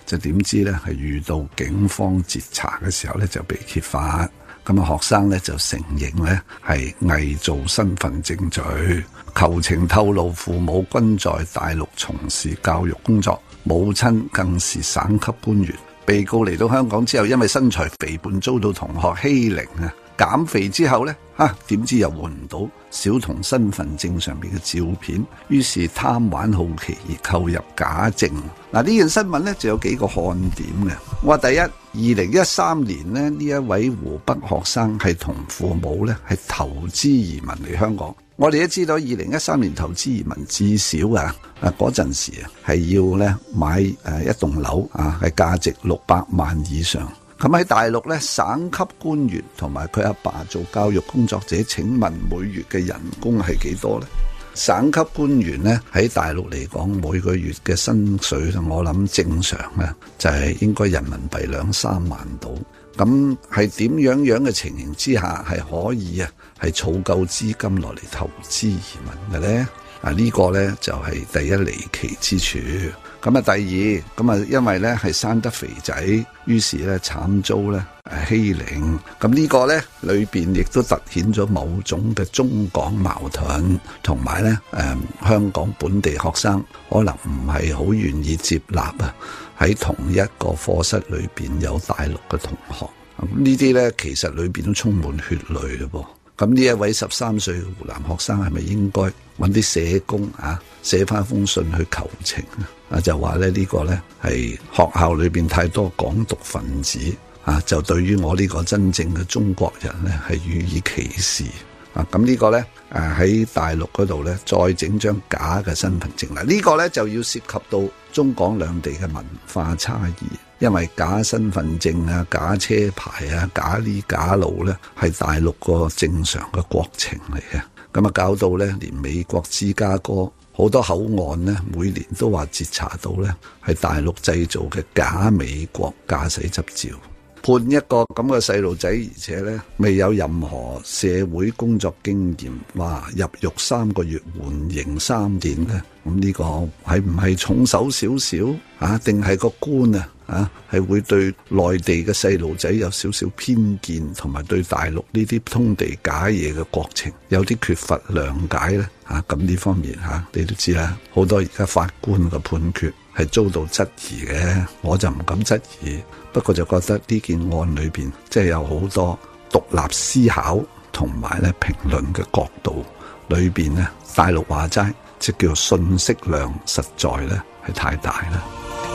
就點知咧係遇到警方截查嘅時候咧就被揭發。咁啊，學生咧就承認咧係偽造身份證罪，求情透露父母均在大陸從事教育工作，母親更是省級官員。被告嚟到香港之後，因為身材肥胖遭到同學欺凌啊，減肥之後咧點知又換唔到小童身份證上邊嘅照片，於是貪玩好奇而購入假證。嗱，呢件新聞咧就有幾個看點嘅。我話第一，2013年咧呢一位湖北學生係同父母咧係投資移民嚟香港。我哋都知道2013年投資移民至少嗰陣時係要咧買一棟樓係價值600萬以上。咁喺大陸咧，省級官員同埋佢阿爸做教育工作者，請問每月嘅人工係幾多呢？省級官員咧喺大陸嚟講，每個月嘅薪水我諗正常咧就係應該人民幣2-3萬到。咁係點樣嘅情形之下係可以係儲夠資金落嚟投資移民嘅呢？呢個呢就係第一離奇之處。咁第二，因為呢係生得肥仔，於是呢慘遭呢欺凌。咁呢個呢裏邊亦都凸顯咗某種嘅中港矛盾，同埋呢香港本地學生可能唔係好願意接納喺同一個課室裏邊有大陸嘅同學。呢啲呢其實裏邊都充滿血淚嘞噃。咁呢一位13歲嘅湖南學生係咪應該揾啲社工寫翻封信去求情就話呢個呢係學校裏邊太多港獨分子就對於我呢個真正嘅中國人呢係予以歧視咁呢個呢喺大陸嗰度呢再整張假嘅身份證啦，呢個呢就要涉及到中港兩地嘅文化差異。因為假身份證假車牌假呢假路呢係大陸個正常嘅國情嚟嘅。咁搞到呢連美國芝加哥好多口岸呢每年都話截查到呢係大陸製造嘅假美國駕駛執照。判一個咁嘅細路仔，而且呢未有任何社會工作經驗，話入獄3個月，緩刑3年呢，咁呢個係唔係重手少少定係個官係會對內地嘅細路仔有少少偏見，同埋對大陸呢啲通地假嘢嘅國情有啲缺乏諒解呢？咁呢方面你都知啦，好多而家法官嘅判決係遭到質疑嘅，我就唔敢質疑，不過就覺得呢件案裏邊即係有好多獨立思考同埋咧評論嘅角度裏邊呢，大陸話齋即叫信息量實在咧係太大啦。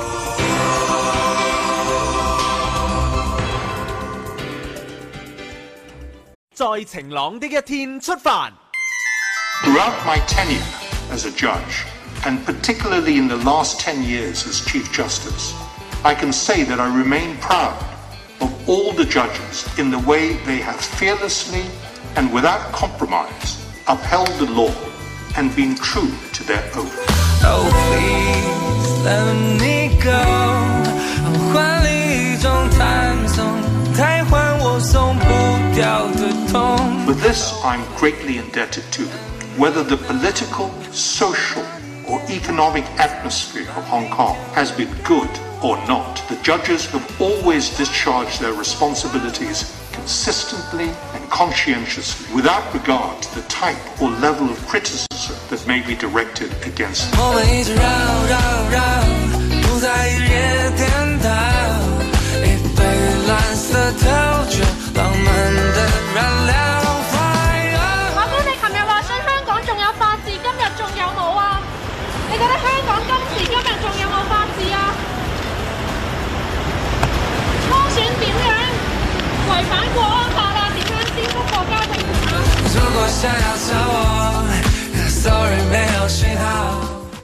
在晴朗的一天出發。 Throughout my tenure as a judge, and particularly in the last 10 years as Chief Justice, I can say that I remain proud of all the judges in the way they have fearlessly and without compromise upheld the law and been true to their oath. Oh, please let me go. 換另一種彈奏，太換我鬆不掉的痛。 For this, I'm greatly indebted to them. Whether the political, social, or economic atmosphere of Hong Kong has been good or not, the judges have always discharged their responsibilities consistently and conscientiously, without regard to the type or level of criticism that may be directed against them. 我們一直繞繞繞，不在一夜顛倒，一杯藍色調酒，浪漫的燃料。 你覺得香港今時今日仲有冇法治啊？初選點樣違反國安法啦？點樣顛覆國家政府啊？如果想要找我 ，sorry 沒有信號。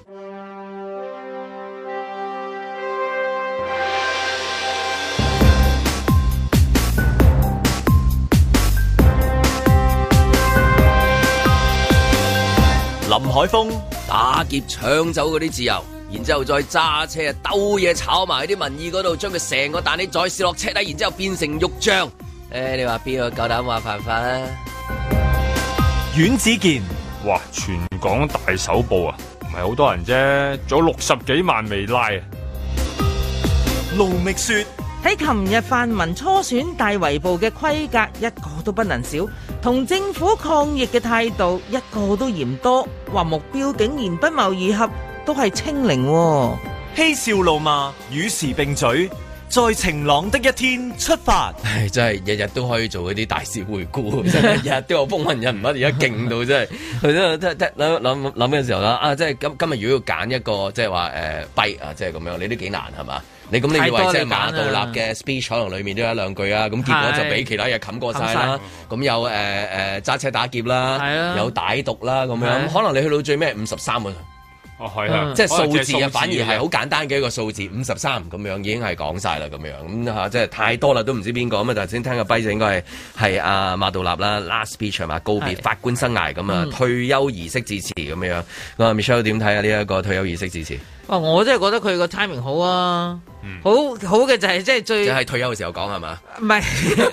林海峰。 打劫搶走嗰啲自由，然之後再揸車兜嘢炒埋啲民意嗰度，將佢成個彈起再試落車底，然之後變成肉醬。你話邊個夠膽話犯法啊？ 阮子健， 哇！全港大搜捕唔係好多人啫，仲有60幾萬未拉啊！ 盧覓雪。 喺琴日泛民初選大圍捕嘅規格一個都不能少，同政府抗疫嘅態度一個都嫌多，話目標竟然不謀而合，都係清零喎。 嬉笑怒罵與時並舉，在晴朗的一天出發。 唉，真係日日都可以做嗰啲大事回顧，真係日日都有風雲人物，而家勁到真係。佢真係諗嘅時候啦，即係今日如果要揀一個即係話跛啊，即係咁樣，你都幾難係嘛？你咁你以為即係馬道立嘅 speech 可能裡面都有一兩句啊，咁結果就俾其他嘢冚過晒啦。咁有揸車打劫啦，有歹毒啦咁樣，可能你去到最尾53個。 哦，係啊， 即係數字啊，反而係好簡單嘅一個數字，53咁樣已經係講晒啦，咁樣咁嚇，即係太多啦，都唔知邊個咁啊！頭先聽個跛就應該係阿馬道立啦 ，last speech 係嘛，告別法官生涯咁啊，退休儀式致辭咁樣。咁啊 Michelle 點睇啊？呢一個退休儀式致辭？ 我真係覺得佢個 timing 好啊，好嘅就係即係最， 即係退休嘅時候講係嘛？ 唔係，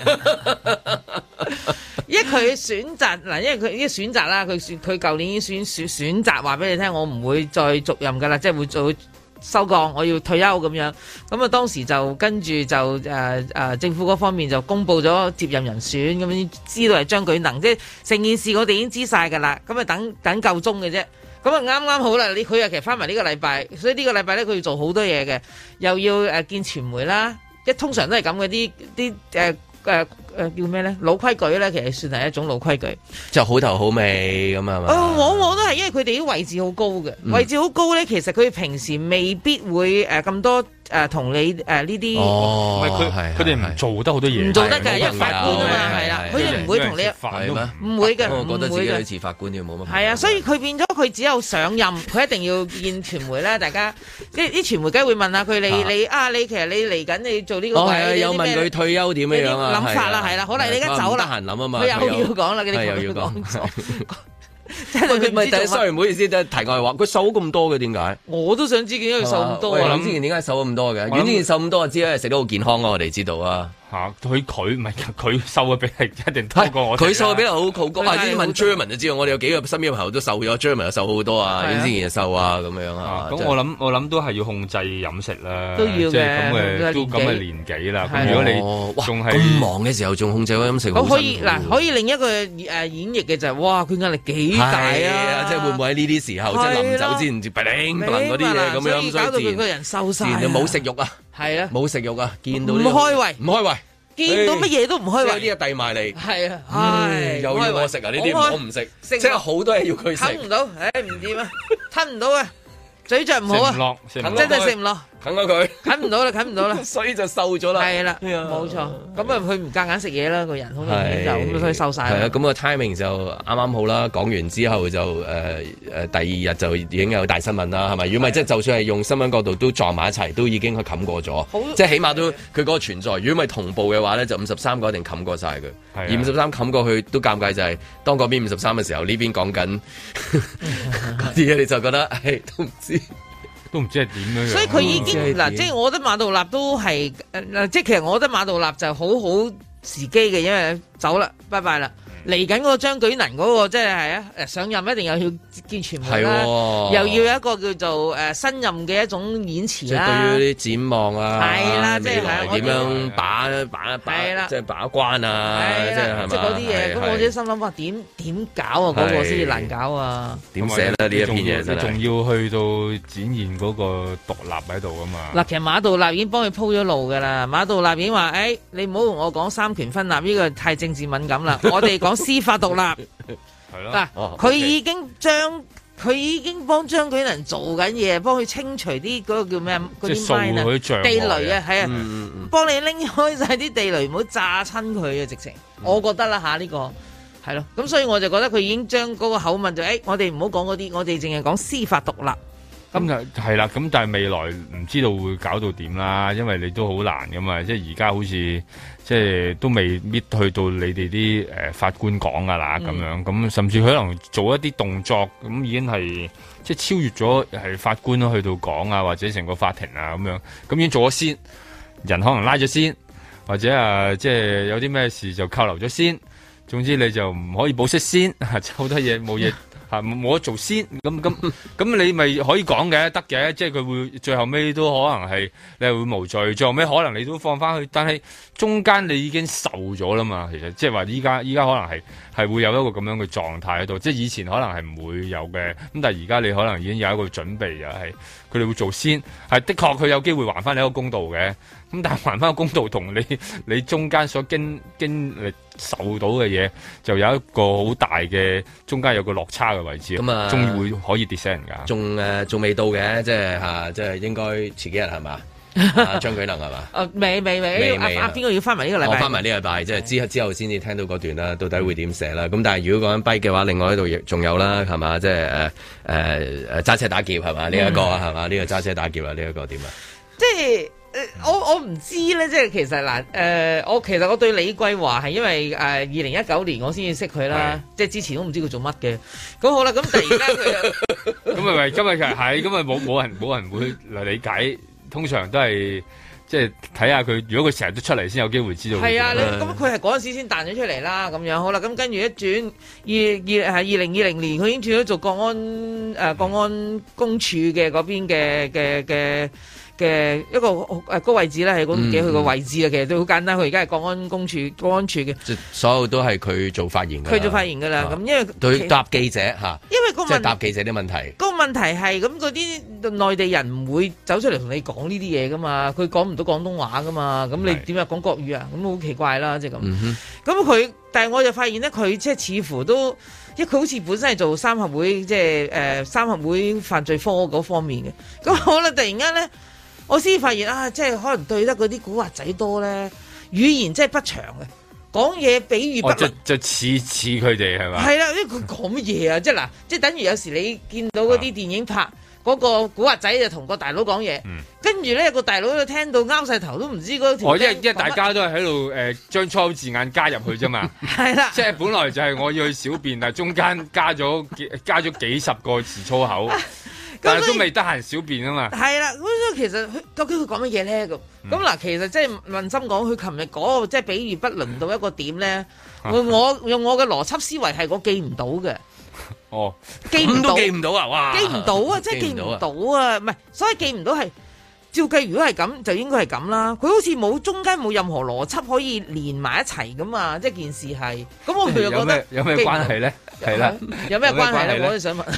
因為佢選擇嗱，因為佢呢選擇啦，佢舊年已經選擇話俾你聽，我唔會再續任㗎啦，即係會做收降，我要退休咁樣。咁啊，當時就跟住就政府嗰方面就公布咗接任人選，咁樣知道係張舉能，即係成件事我哋已經知晒㗎啦。咁啊，等夠鐘嘅啫。咁啊，啱啱好啦！佢又其實翻埋呢個禮拜，所以呢個禮拜咧佢要做好多嘢嘅，又要見傳媒啦，通常都係咁嘅啲叫咩咧？老規矩咧，其實算係一種老規矩， 就好頭好尾咁啊嘛。 往往都係因為佢哋啲位置好高嘅，位置好高咧，其實佢平時未必會咁多同你呢啲。 哦，佢哋唔做得好多嘢， 唔做得嘅，因為法官啊嘛，係啦，佢哋唔會同你唔會嘅， 我覺得自己好似法官要冇乜。 係啊，所以佢變咗佢只有上任，佢一定要見傳媒啦。大家啲傳媒梗係會問下佢你其實你嚟緊你做呢個位， 有問佢退休點樣啊？ 諗法啦，係啦，好啦，你而家走啦， 得閒諗啊嘛， 佢又要講啦， 又要講。 即係佢唔知做乜。 sorry，唔好意思，即係題外話，佢瘦咁多嘅點解？ 我都想知點解佢瘦咁多。 我諗之前點解瘦咁多嘅？阮之前瘦咁多，我知咧食得好健康啊！我哋知道啊。 佢唔係佢瘦嘅比例一定多過我。佢瘦嘅比例好高啊！呢啲問 Jeremy 就知道，我哋有幾個身邊嘅朋友都瘦咗 Jeremy 又瘦好多啊，阮之前又瘦啊咁樣啊。 咁我諗都係要控制飲食啦， 都要嘅，都咁嘅年紀啦。咁如果你仲係咁忙嘅時候仲控制飲食， 可以另一個演繹嘅就係哇，佢壓力幾大啊！ 即係會唔會喺呢啲時候，即係臨走之前，嗰啲嘢咁樣， 搞到佢個人瘦晒， 冇食慾啊， 係啊， 冇食慾啊，見到唔開胃， 唔開胃。 見到乜嘢都唔開胃， 有啲嘢遞埋嚟， 係啊， 又要我食啊！呢啲我唔食，即係好多嘢要佢食， 吞唔到，唔掂啊，吞唔到啊，嘴著唔好啊，真係食唔落。 啃咗佢， 啃唔到啦， 所以就瘦咗啦。係啦， 冇錯。咁啊，佢唔夾硬食嘢啦，個人好明顯就咁，所以瘦晒。 係啊，咁個 timing 就啱啱好啦。講完之後就第二日就已經有大新聞啦，係咪？如果唔係，即係就算係用新聞角度都撞埋一齊，都已經佢冚過咗。即係起碼都佢嗰個存在。如果唔係同步嘅話咧，就53個一定冚過晒佢。而53冚過去都尷尬，就係當嗰邊53嘅時候，呢邊講緊嗰啲嘢，你就覺得都唔知係點樣。 所以佢已經嗱，即係我覺得馬道立都係即係其實我覺得馬道立就好時機嘅，因為走啦，拜拜啦。嚟緊嗰個張舉能嗰個即係上任一定又要見傳媒啦，又要有一個叫做新任嘅一種演詞啦。 即係對於啲展望啊， 係啦，即係點樣把即係把關啊，即係係嘛？ 即係嗰啲嘢。咁我自己心諗話點搞啊？嗰個先至難搞啊！ 點寫咧？呢一篇嘢真係仲要去到展現嗰個獨立喺度啊嘛！ 嗱，其實馬道立已經幫佢鋪咗路㗎啦。馬道立已經話：你唔好同我講三權分立，呢個太政治敏感啦。我哋講司法獨立。 係咯。 嗱，佢已經幫張舉能做緊嘢，幫佢清除啲嗰個叫咩嗰啲地雷啊，係啊，幫你拎開晒啲地雷，唔好炸親佢啊！直情，我覺得啦嚇呢個係咯。咁所以我就覺得佢已經將嗰個口吻就我哋唔好講嗰啲，我哋淨係講司法獨立。 咁就係啦，咁但係未來唔知道會搞到點啦，因為你都好難噶嘛，即係而家好似即係都未搣去到你哋啲法官講噶啦咁樣，咁甚至可能做一啲動作，咁已經係即係超越咗係法官去到講啊，或者成個法庭啊咁樣，咁已經做咗先，人可能拉咗先，或者即係有啲咩事就扣留咗先。 總之你就唔可以保釋先，好多嘢冇嘢。冇得做先，咁你咪可以講嘅，得嘅，即係佢會最後尾都可能係你係會無罪，最後尾可能你都放翻去，但係中間你已經受咗啦嘛，其實即係話依家可能係會有一個咁樣嘅狀態喺度，即係以前可能係唔會有嘅，咁但係而家你可能已經有一個準備，又係佢哋會做先，係的確佢有機會還翻你一個公道嘅，咁但係還翻個公道同你中間所經歷受到嘅嘢，就有一個好大嘅中間有個落差嘅位置，咁啊，終於會可以跌死人㗎。 仲未到嘅，即係應該遲幾日係嘛？張舉能係嘛？ 未邊個要翻埋呢個禮拜？ 我翻埋呢個禮拜，即係之後先至聽到嗰段啦，到底會點寫啦？咁但係如果講緊跛嘅話，另外一度亦仲有啦，係嘛？即係揸車打劫係嘛？呢一個係嘛？呢個揸車打劫啊？呢一個點啊？ 即係。我唔知咧，即係其實嗱，我對李桂華係因為2019年我先至識佢啦，即係之前都唔知佢做乜嘅。咁好啦，咁突然間佢咁咪今日其實係，咁咪冇人會嚟理解，通常都係即係睇下佢，如果佢成日都出嚟先有機會知道。係啊， 咁佢係嗰陣時先彈咗出嚟啦，咁樣好啦，咁跟住一轉2020年，佢已經轉咗做國安公署嘅嗰邊嘅一個個位置咧，係我唔記得佢個位置啊，其實都好簡單。佢而家係國安處嘅， 即所有都係佢做發言嘅。 佢做發言㗎啦，咁因為對答記者嚇， 因為即係答記者啲問題。 個問題係咁，嗰啲內地人唔會走出嚟同你講呢啲嘢㗎嘛，佢講唔到廣東話㗎嘛，咁你點樣講國語啊？咁好奇怪啦，即係咁。咁但係我就發現咧，佢即係似乎都，因為佢好似本身係做三合會，即係三合會犯罪科嗰方面嘅。咁好啦，突然間咧。我先發現啊，即係可能對得嗰啲古惑仔多咧，語言真係不詳嘅，講嘢比喻不倫， 就似佢哋係嘛？ 係啦，因為佢講乜嘢啊？即係嗱，即係等於有時你見到嗰啲電影拍嗰個古惑仔就同個大佬講嘢，跟住咧個大佬就聽到拗晒頭都唔知嗰條。 因為大家都係喺度將粗口字眼加入去啫嘛。係啦，即係本來就係我要去小便，但係中間加咗幾十個字粗口。但係都未得閒小便啊嘛，係啦，咁所以其實究竟佢講乜嘢咧？咁嗱，其實即係問心講，佢琴日嗰個即係比喻不倫到一個點咧，我用我嘅邏輯思維係我記唔到嘅。哦，記唔到啊！哇，記唔到啊！即係記唔到啊！唔係，所以記唔到係照計，如果係咁，就應該係咁啦。佢好似冇中間冇任何邏輯可以連埋一齊咁啊！即係件事係咁，我佢又覺得有咩關係咧？係啦， 有咩關係咧？我都想問。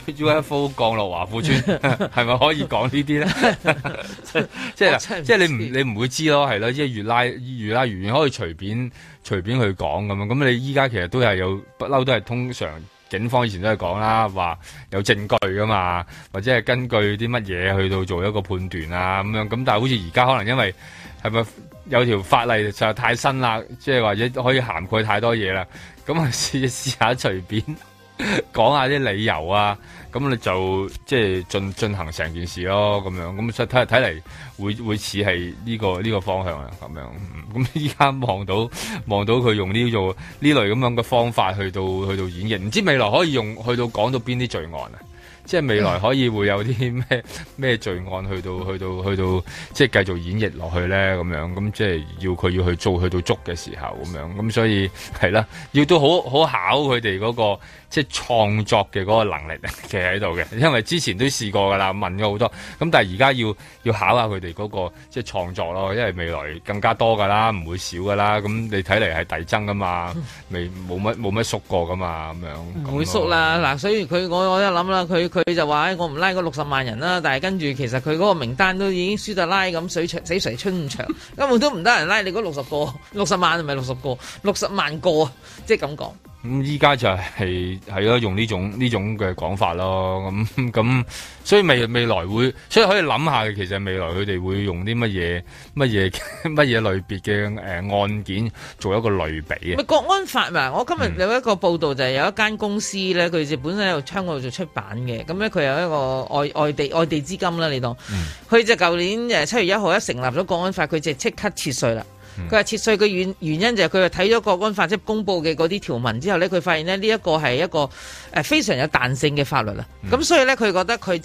UFO 降落華富村係咪可以講呢啲咧？即係你唔會知咯，係咯，即係越拉越遠，可以隨便去講咁樣。咁你依家其實都係有不嬲，都係通常警方以前都係講啦，話有證據噶嘛，或者係根據啲乜嘢去到做一個判斷啊咁樣。咁但係好似而家可能因為係咪有條法例就太新啦，即係或者可以涵蓋太多嘢啦。咁啊試下隨便講下啲理由啊，咁你就即係進行成件事咯，咁樣咁睇嚟會似係呢個方向啊，咁樣。咁依家望到佢用呢類咁樣嘅方法去到演繹，唔知未來可以用去到講到邊啲罪案啊？即係未來可以會有啲咩罪案去到即係繼續演繹落去咧，咁樣咁即係要去做去到捉嘅時候咁樣，咁所以係啦，要都好考佢哋嗰個即係創作嘅嗰個能力其實喺度嘅，因為之前都試過噶啦，問咗好多，咁但係而家要考下佢哋嗰個即係創作咯，因為未來更加多噶啦，唔會少噶啦，咁你睇嚟係遞增噶嘛，冇乜縮過噶嘛，咁樣唔會縮啦，嗱，所以我一諗啦，佢就話我唔拉嗰60萬人啦，但係跟住其實佢嗰個名單都已經輸得拉咁死水春長，根本都唔得人拉你嗰60萬係咪60個60萬個啊，即係咁講。 咁依家就係咯，用呢種嘅講法咯，咁所以未來會，所以可以諗下嘅，其實未來佢哋會用啲乜嘢類別嘅案件做一個類比啊。 國安法嘛，我今日有一個報道就係有一間公司咧，佢就本身喺度香港度做出版嘅，咁咧佢有一個外地資金啦，你當，佢就舊年7月1號一成立咗國安法，佢就即刻撤稅啦。佢話撤稅嘅原因就係佢話睇咗國安法即係公佈嘅嗰啲條文之後咧，佢發現咧呢一個係一個非常有彈性嘅法律啦。咁所以咧佢覺得佢就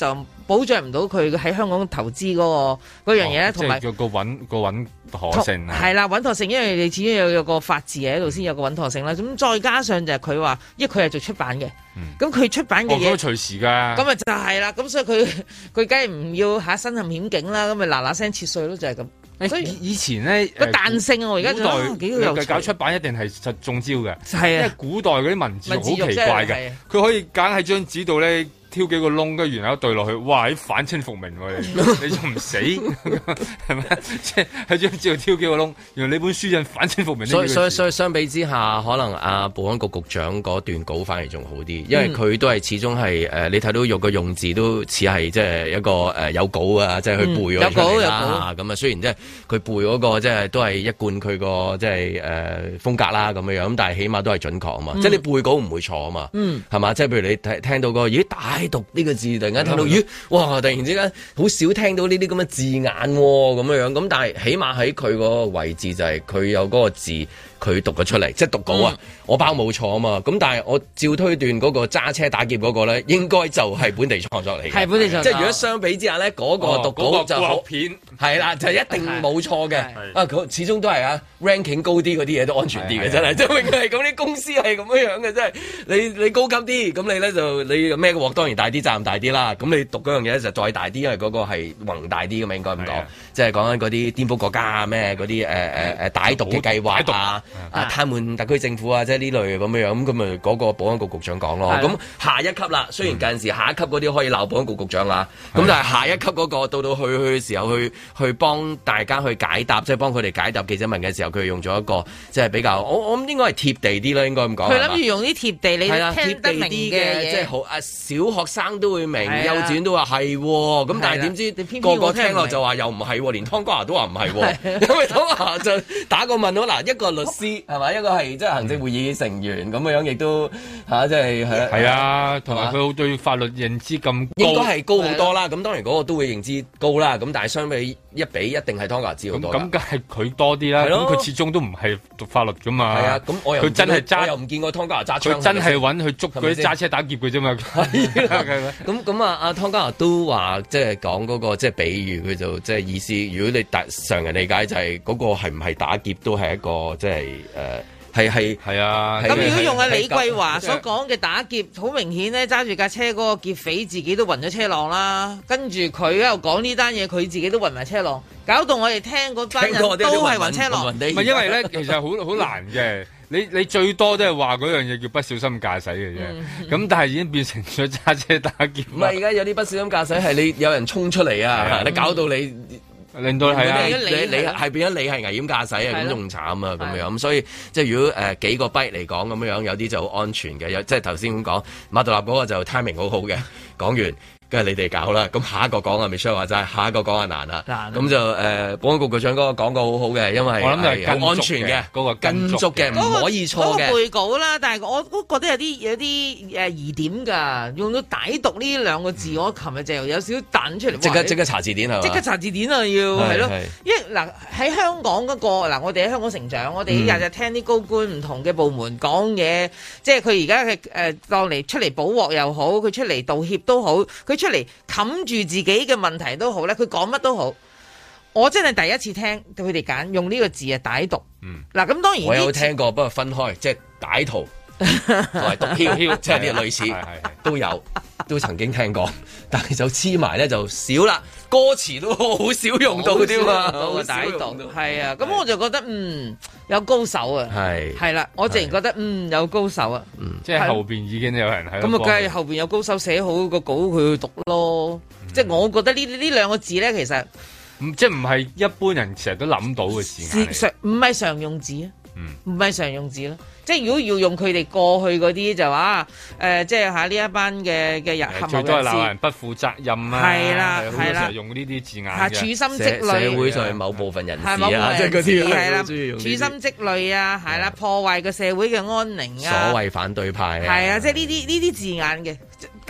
保障唔到佢喺香港投資嗰樣嘢咧，同埋個穩妥性係啦，穩妥性，因為你始終有個法治喺度先有個穩妥性啦。咁再加上就係佢話，因為佢係做出版嘅，咁佢出版嘅嘢隨時㗎。 咁啊就係啦，咁所以佢梗係唔要身陷險境啦，咁咪嗱嗱聲切碎咯，就係咁。所以以前咧個彈性啊，我而家覺得幾有趣。 搞出版一定係實中招嘅， 係啊， 因為古代嗰啲文字好奇怪嘅，佢可以揀喺張紙度咧。挑幾個窿，跟住然後對落去，哇！啲反清復明喎，你仲唔死係咪？即係喺張紙度挑幾個窿，原來你本書印反清復明。 所以相比之下，可能保安局局長嗰段稿反而仲好啲，因為佢都係始終係你睇到用個用字都似係即係一個有稿啊，即係去背咗出嚟啦。咁啊，雖然即係佢背嗰個即係都係一貫佢個即係風格啦咁樣，咁但係起碼都係準確啊嘛。即係你背稿唔會錯啊嘛，係嘛？即係譬如你聽到個大讀呢個字，突然間聽到咦，哇！突然之間好少聽到呢啲咁嘅字眼咁樣，咁但係起碼喺佢個位置就係佢有嗰個字。佢讀咗出嚟，即係讀稿啊！我包冇錯啊嘛，咁但係我照推斷嗰個揸車打劫嗰個咧，應該就係本地創作嚟嘅。係本地創作，即係如果相比之下咧，嗰個讀稿就好片，係啦，就一定冇錯嘅。佢始終都係ranking 高啲嗰啲嘢都安全啲嘅，真係，即係永遠係咁啲公司係咁樣嘅，真係你高級啲，咁你咧就你孭個鑊當然大啲，責任大啲啦。咁你讀嗰樣嘢就再大啲，因為嗰個係宏大啲嘅嘛，應該咁講，即係講緊嗰啲顛覆國家啊咩嗰啲歹毒嘅計劃啊。癱瘓特區政府啊，即係呢類咁樣，咁咪嗰個保安局局長講咯。咁下一級啦，雖然近時下一級嗰啲可以鬧保安局局長啦，咁但係下一級嗰個到去嘅時候，去幫大家去解答，即係幫佢哋解答記者問嘅時候，佢用咗一個即係比較，我諗應該係貼地啲啦，應該咁講。佢諗住用啲貼地，你聽得明啲嘅，即係好小學生都會明，幼稚園都話係，咁但係點知個個聽落就話又唔係，連湯哥華都話唔係，因為湯哥華就打個問號嗱，一個律師係咪？一個係即係行政會議成員咁樣，亦都即係係啊，同埋佢對法律認知咁高，應該係高好多啦。咁當然嗰個都會認知高啦。咁但係相比一定係湯哥華知好多。咁梗係佢多啲啦。咁佢始終都唔係讀法律噶嘛。係啊。咁我又佢真係揸，又唔見過湯哥華揸槍。佢真係揾佢捉嗰啲揸車打劫嘅啫嘛。咁阿湯哥華都話即係講嗰個即係比喻，佢就即係意思。如果你常人理解就係嗰個係唔係打劫都係一個即係係啊！ 咁如果用李桂華所講嘅打劫，好明顯咧，揸住架車嗰個劫匪自己都暈咗車浪啦，跟住佢喺度講呢單嘢，佢自己都暈埋車浪，搞到我哋聽嗰班人都係暈車浪。唔係因為咧，其實好難嘅。你最多都係話嗰樣嘢叫不小心駕駛嘅啫。咁但係已經變成咗揸車打劫。 唔係而家有啲不小心駕駛係你有人衝出嚟啊！你搞到你。 令到係啊， 你係變咗你係危險駕駛啊，咁仲慘啊，咁樣咁所以即係如果幾個 byte 嚟講咁樣，有啲就好安全嘅，有即係頭先咁講馬道立嗰個就 timing 好好嘅，講完。跟住你哋搞啦，咁下一個講啊，Michelle話齋，下一個講啊難啦，咁就保安局局長嗰個講過好好嘅，因為我諗係好安全嘅，嗰個跟足嘅，唔可以錯嘅。 嗰個背稿啦，但係我都覺得有啲疑點㗎，用到歹毒呢兩個字，我琴日就有少少彈出嚟。 即刻查字典係嘛？ 即刻查字典啊！要係咯，因為嗱喺香港嗰個嗱，我哋喺香港成長，我哋日日聽啲高官唔同嘅部門講嘢，即係佢而家嘅當嚟出嚟補鑊又好，佢出嚟道歉都好，佢出嚟冚住自己嘅問題都好咧，佢講乜都好。我真係第一次聽佢哋揀用呢個字啊，歹毒。嗱咁當然我有聽過，不過分開，即係歹徒同埋毒梟，即係啲類似都有，都曾經聽過，但係就黐埋咧就少啦。歌詞都好少用到啲嘛， 歹毒係啊。咁我就覺得有高手啊，係啦，我自然覺得有高手啊， 即係後邊已經有人喺度。 咁啊，梗係後邊有高手寫好個稿，佢去讀咯。即係我覺得呢兩個字咧，其實即係唔係一般人成日都諗到嘅字， 唔係常用字啊，唔係常用字咯。即係如果要用佢哋過去嗰啲就話即係嚇呢一班嘅人合謀人士， 最多係鬧人不負責任啊！ 係啦，係啦， 用呢啲字眼嘅，處心積慮， 社會上某部分人士啊， 即係嗰啲係啦，處心積慮啊，係啦，破壞個社會嘅安寧啊， 所謂反對派啊， 係啊，即係呢啲字眼嘅。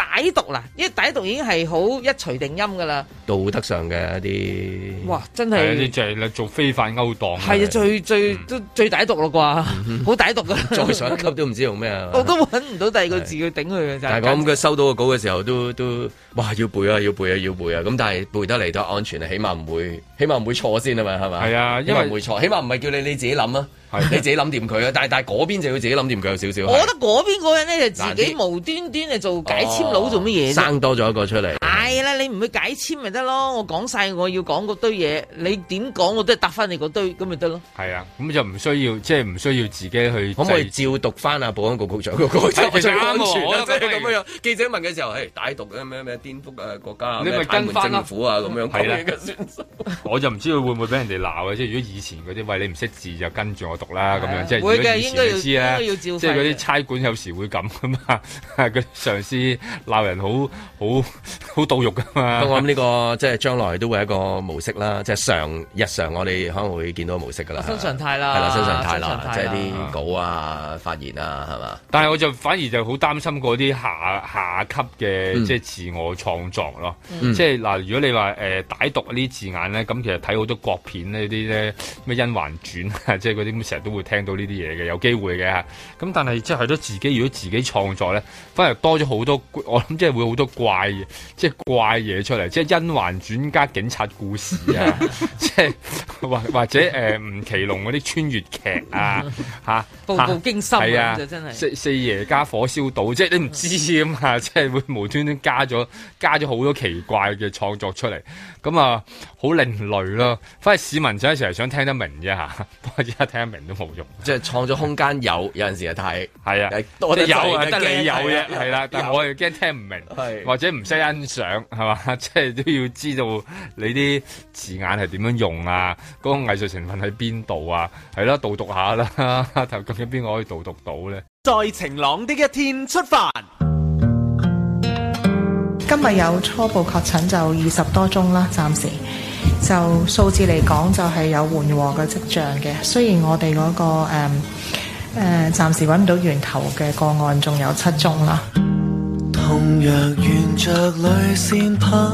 歹毒啦，因為歹毒已經係好一錘定音噶啦， 道德上嘅一啲， 哇，真係你就係做非法勾當， 係啊，最歹毒咯啩，好歹毒噶， 再上一級都唔知用咩啊， 我都揾唔到第二個字去頂佢嘅。 但係咁佢收到個稿嘅時候都哇要背啊，咁但係背得嚟都安全啊，起碼唔會錯先啊嘛，係咪？ 係啊， 因為唔會錯，起碼唔係叫你自己諗啊。你自己諗掂佢啊，但係嗰邊就要自己諗掂佢有少少。 我覺得嗰邊嗰人咧就自己無端端做解簽佬做乜嘢？ 生多咗一個出嚟。 係啦，你唔去解簽咪得咯？我講晒我要講嗰堆嘢，你點講我都係答翻你嗰堆，咁咪得咯。 係啊，咁就唔需要自己去。 可唔可以照讀翻啊？保安局局長嗰個最安全啊！即係咁樣。記者問嘅時候，歹毒嘅咩顛覆國家， 你咪跟翻政府啊咁樣講嘅算數。 我就唔知佢會唔會俾人哋鬧嘅，即係如果以前嗰啲喂你唔識字就跟住我讀啦咁樣，即係如果以前你知啦，即係嗰啲差館有時會咁噶嘛，嗰啲上司鬧人好到肉噶嘛。 我諗呢個即係將來都會係一個模式啦，即係日常我哋可能會見到模式噶啦， 新常態啦， 係啦，新常態啦，即係啲稿啊、發言啊，係嘛？ 但係我就反而就好擔心嗰啲下級嘅即係自我創作咯，即係嗱，如果你話歹毒呢啲字眼咧，咁其實睇好多國片呢啲咧咩甄嬛傳啊，即係嗰啲咁成日都會聽到呢啲嘢嘅，有機會嘅嚇。咁但係即係自己如果自己創作咧，反而多咗好多，我諗即係會好多怪嘢出嚟，即係甄嬛傳加警察故事啊，即係或者吳奇隆嗰啲穿越劇啊嚇， 步步驚心啊，就真係四爺加火燒島，即係你唔知㗎嘛，即係會無端端加咗好多奇怪嘅創作出嚟，咁啊好另類咯。反而市民就係成日想聽得明啫嚇，不過而家聽得明都冇用。 即係創作空間有陣時係太係啊， 多得有啊，得你有啫，係啦。但係我又驚聽唔明，或者唔識欣賞，係嘛？即係都要知道你啲字眼係點樣用啊，嗰個藝術成分喺邊度啊？係咯，導讀下啦，究竟邊個可以導讀到咧？ 在晴朗的一天出發。 今日有初步確診就20多宗啦，暫時就數字嚟講就係有緩和嘅跡象嘅。雖然我哋嗰個暫時揾唔到源頭嘅個案仲有7宗啦。同樣沿着淚線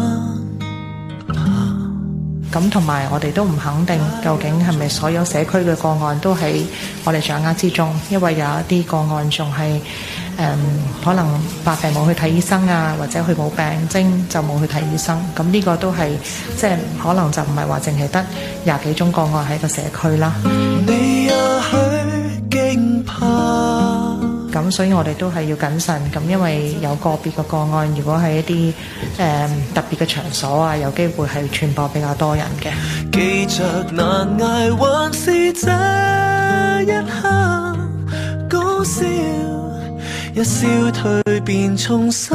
咁同埋我哋都唔肯定究竟係咪所有社區嘅個案都喺我哋掌握之中，因為有一啲個案仲係可能發病冇去睇醫生啊，或者佢冇病徵就冇去睇醫生，咁呢個都係即係可能就唔係話淨係得20幾宗個案喺個社區啦。你也許驚怕咁所以我哋都係要謹慎，咁因為有個別嘅個案，如果係一啲特別嘅場所啊，有機會係傳播比較多人嘅。記着難捱還是這一刻講笑，一笑蛻變重生。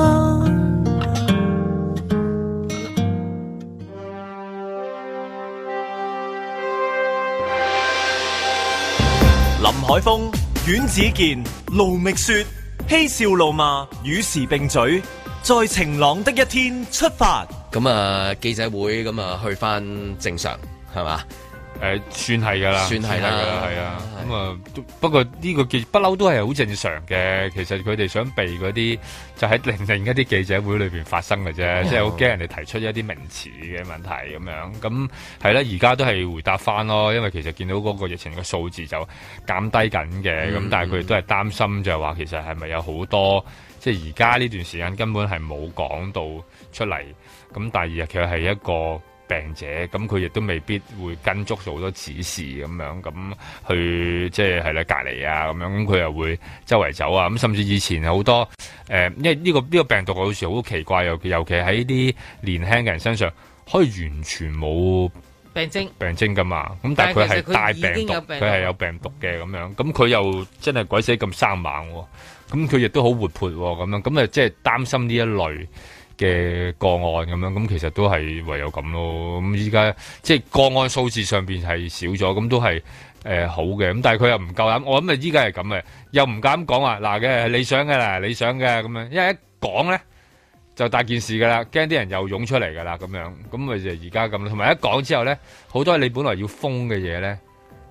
林海峰、阮子健、盧覓雪，嬉笑怒罵，與時並舉，在晴朗的一天出發。 咁啊，記者會咁啊，去翻正常係嘛？ 算係噶啦， 算係啦， 係啊。咁啊，不過呢個記不嬲都係好正常嘅。其實佢哋想避嗰啲，就喺另一啲記者會裏邊發生嘅啫。即係好驚人哋提出一啲名詞嘅問題咁樣。咁係啦，而家都係回答翻咯。因為其實見到嗰個疫情嘅數字就減低緊嘅。咁但係佢哋都係擔心就係話，其實係咪有好多即係而家呢段時間根本係冇講到出嚟。咁第二日佢係一個病者，咁佢亦都未必會跟足好多指示咁樣，咁去即係啦隔離啊咁樣，咁佢又會周圍走啊，咁甚至以前好多因為呢個病毒好似好奇怪，尤其喺啲年輕嘅人身上，可以完全冇病徵噶嘛，咁但係佢係帶病毒，佢係有病毒嘅咁樣，咁佢又真係鬼死咁生猛喎，咁佢亦都好活潑喎，咁樣，咁啊即係擔心呢一類嘅個案咁樣，咁其實都係唯有咁咯。咁依家即係個案數字上邊係少咗，咁都係好嘅。咁但係佢又唔夠膽，我諗啊依家係咁嘅，又唔敢講話嗱嘅理想嘅啦，理想嘅咁樣，因為一講咧就大件事噶啦，驚啲人又湧出嚟噶啦咁樣，咁咪就而家咁。同埋一講之後咧，好多你本來要封嘅嘢咧，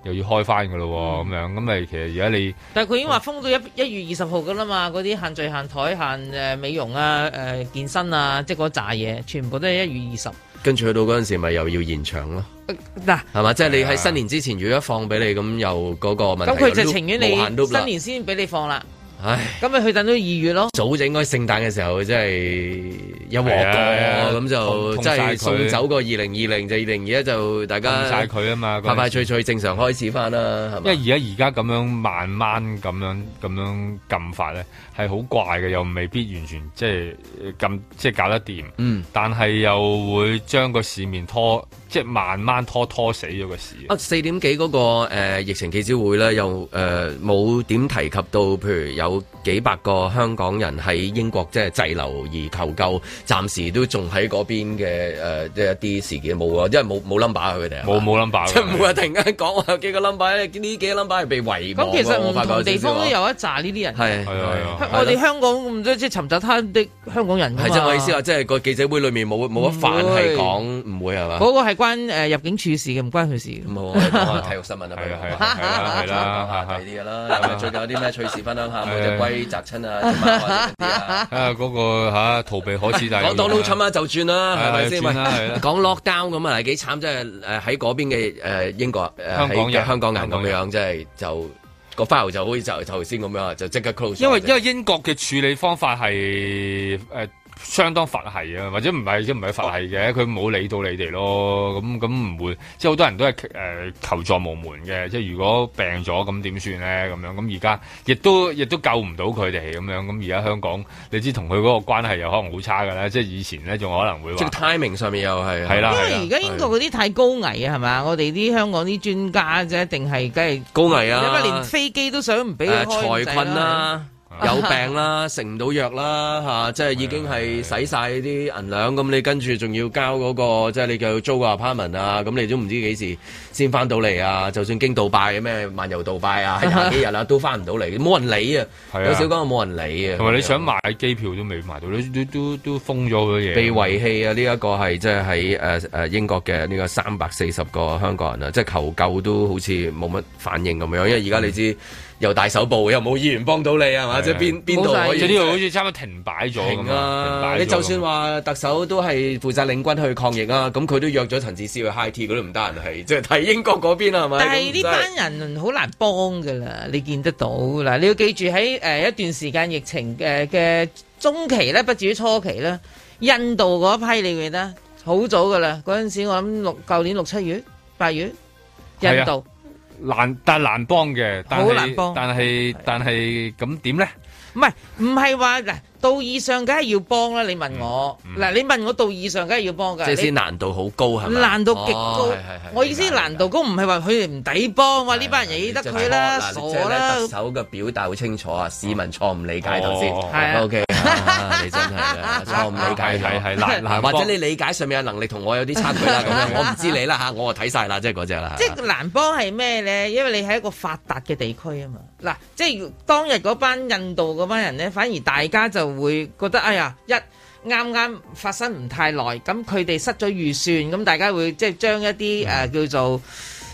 又要開翻噶咯，咁樣咁咪其實而家你， 但係佢已經話封到1月20號噶啦嘛，嗰啲限聚限台限美容啊、健身啊，即係嗰扎嘢，全部都係1月20。 跟住去到嗰陣時，咪又要延長咯。 嗱， 係嘛？即係你喺新年之前，如果一放俾你，咁又嗰個問題。 咁佢就情願你新年先俾你放啦。唉，咁咪去等到2月咯。 早就應該聖誕嘅時候，即係一鑊過，咁就即係送走個2020，就2021就大家晒佢啊嘛， 快快脆脆正常開始翻啦，係嘛？ 因為而家咁樣慢慢咁樣禁法咧，係好怪嘅，又未必完全即係咁即係搞得掂。但係又會將個市面拖，即係慢慢拖死咗個市。 4點幾嗰個疫情記者會咧，又冇點提及到，譬如有幾百個香港人喺英國即係滯留而求救，暫時都仲喺嗰邊嘅即係一啲事件冇啊，因為冇 number 佢哋冇 number， 即係唔會話突然間講話有幾個 number， 呢幾個 number 係被遺忘。 咁其實唔同地方都有一紮呢啲人。 係我哋香港咁多即係尋找他的香港人。 係即係我意思話，即係個記者會裏面冇一範係講唔會係嘛？ 嗰個係關入境處事嘅，唔關佢事嘅。 冇講體育新聞啊，係啦，睇啲嘢啦。最近有啲咩趣事分享下？冇隻龜砸親啊！ 嗰個逃避可恥，但係講到 Donald Trump 就轉啦，係咪先？講 lockdown 咁啊，幾慘！即係喺嗰邊嘅英國香港人咁樣，即係就個 file 就好似就頭先咁樣，就即刻 close。 因為英國嘅處理方法係相當佛系啊，或者唔係佛系嘅，佢冇理到你哋咯。咁唔會，即係好多人都係求助無門嘅。即係如果病咗咁點算咧？咁樣咁而家亦都救唔到佢哋咁樣。咁而家香港，你知同佢嗰個關係又可能好差㗎啦。即係以前咧仲可能會話， 即係 timing 上面又係係啦。 因為而家英國嗰啲太高危啊，係嘛？我哋啲香港啲專家啫，一定係梗係高危啊！ 因為連飛機都想唔俾佢開， 財困啦。有病啦，食唔到藥啦，即係已經係使晒啲銀兩，咁你跟住仲要交嗰個，即係你又要租個 apartment 啊，咁你都唔知幾時先翻到嚟啊！就算經杜拜咩漫遊杜拜啊，係廿幾日啦，都翻唔到嚟，冇人理啊！有少講冇人理啊！ 同埋你想買機票都未買到，都封咗好多嘢。 被遺棄啊！呢一個係即係喺英國嘅呢個340個香港人啊，即係求救都好似冇乜反應咁樣，因為而家你知。又大手部，又冇議員幫到你係嘛？即係邊度可以？ 即係呢度好似差唔多停擺咗咁啊！ 你就算話特首都係負責領軍去抗疫啊，咁佢都約咗陳智思去 high tea，佢都唔得閒係即係睇英國嗰邊係咪？ 但係呢班人好難幫㗎啦，你見得到嗱，你要記住喺一段時間疫情嘅中期咧，不至於初期咧，印度嗰批你記得好早㗎啦，嗰陣時我諗舊年6、7月、8月，印度。 但係難幫嘅， 好難幫。 但係咁點咧？ 唔係話嗱，道義上梗係要幫啦。你問我嗱，你問我道義上梗係要幫㗎。 即係先難度好高係咪？ 難度極高。我意思難度高唔係話佢哋唔抵幫，話呢班人理得佢啦，傻啦。 特首嘅表達好清楚啊，市民錯誤理解頭先。OK，你真係嘅錯誤理解係嗱，或者你理解上面嘅能力同我有啲差距啦。咁樣我唔知你啦嚇，我睇晒啦，即係嗰隻啦。 即係難幫係咩咧？因為你係一個發達嘅地區啊嘛。嗱，即係當日嗰班印度嗰班人咧，反而大家就會覺得哎呀，啱啱發生唔太耐，咁佢哋失咗預算，咁大家會即係將一啲叫做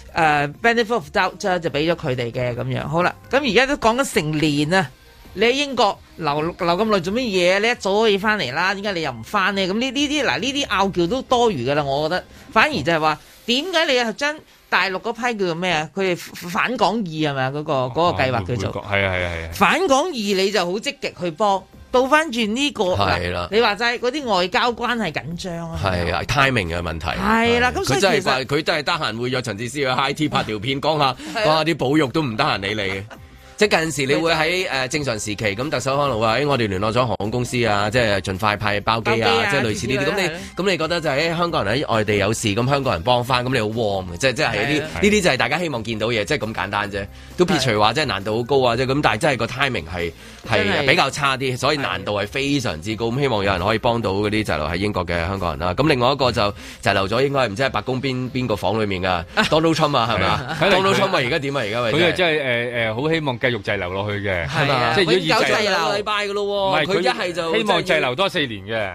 benefit of doubt 就俾咗佢哋嘅咁樣。好啦，咁而家都講緊成年啊，你喺英國留咁耐做乜嘢？你一早可以翻嚟啦，點解你又唔翻呢？咁呢啲拗撬都多餘噶啦，我覺得。反而就係話，點解你又將大陸嗰批叫做咩啊？佢哋反港易係咪啊？嗰個計劃叫做係啊！ 反港易你就好積極去幫。倒翻轉呢個係啦，你話齋嗰啲外交關係緊張啊， 係啊 timing 嘅問題係啦，咁所以其實佢真係得閒會約陳智思去 high tea 拍條片講下啲保育都唔得閒理你嘅。即係近時你會喺正常時期咁，特首可能話我哋聯絡咗航空公司啊，即係盡快派包機啊，即係類似呢啲。咁你覺得就係香港人喺外地有事，咁香港人幫翻，咁你好 warm 嘅，即係呢啲就係大家希望見到嘢，即係咁簡單啫。都撇除話即係難度好高啊，即係咁，但係真係個 timing 係比較差啲，所以難度係非常之高。咁希望有人可以幫到嗰啲滯留喺英國嘅香港人啦。咁另外一個就滯留咗，應該唔知係白宮邊個房裏面㗎 Donald Trump 啊，係咪啊？Donald Trump 而家點啊？而家佢真係好希望繼續滯留落去嘅， 係嘛？ 即係如果以滯留禮拜嘅咯喎，唔係佢一係就希望滯留多4年嘅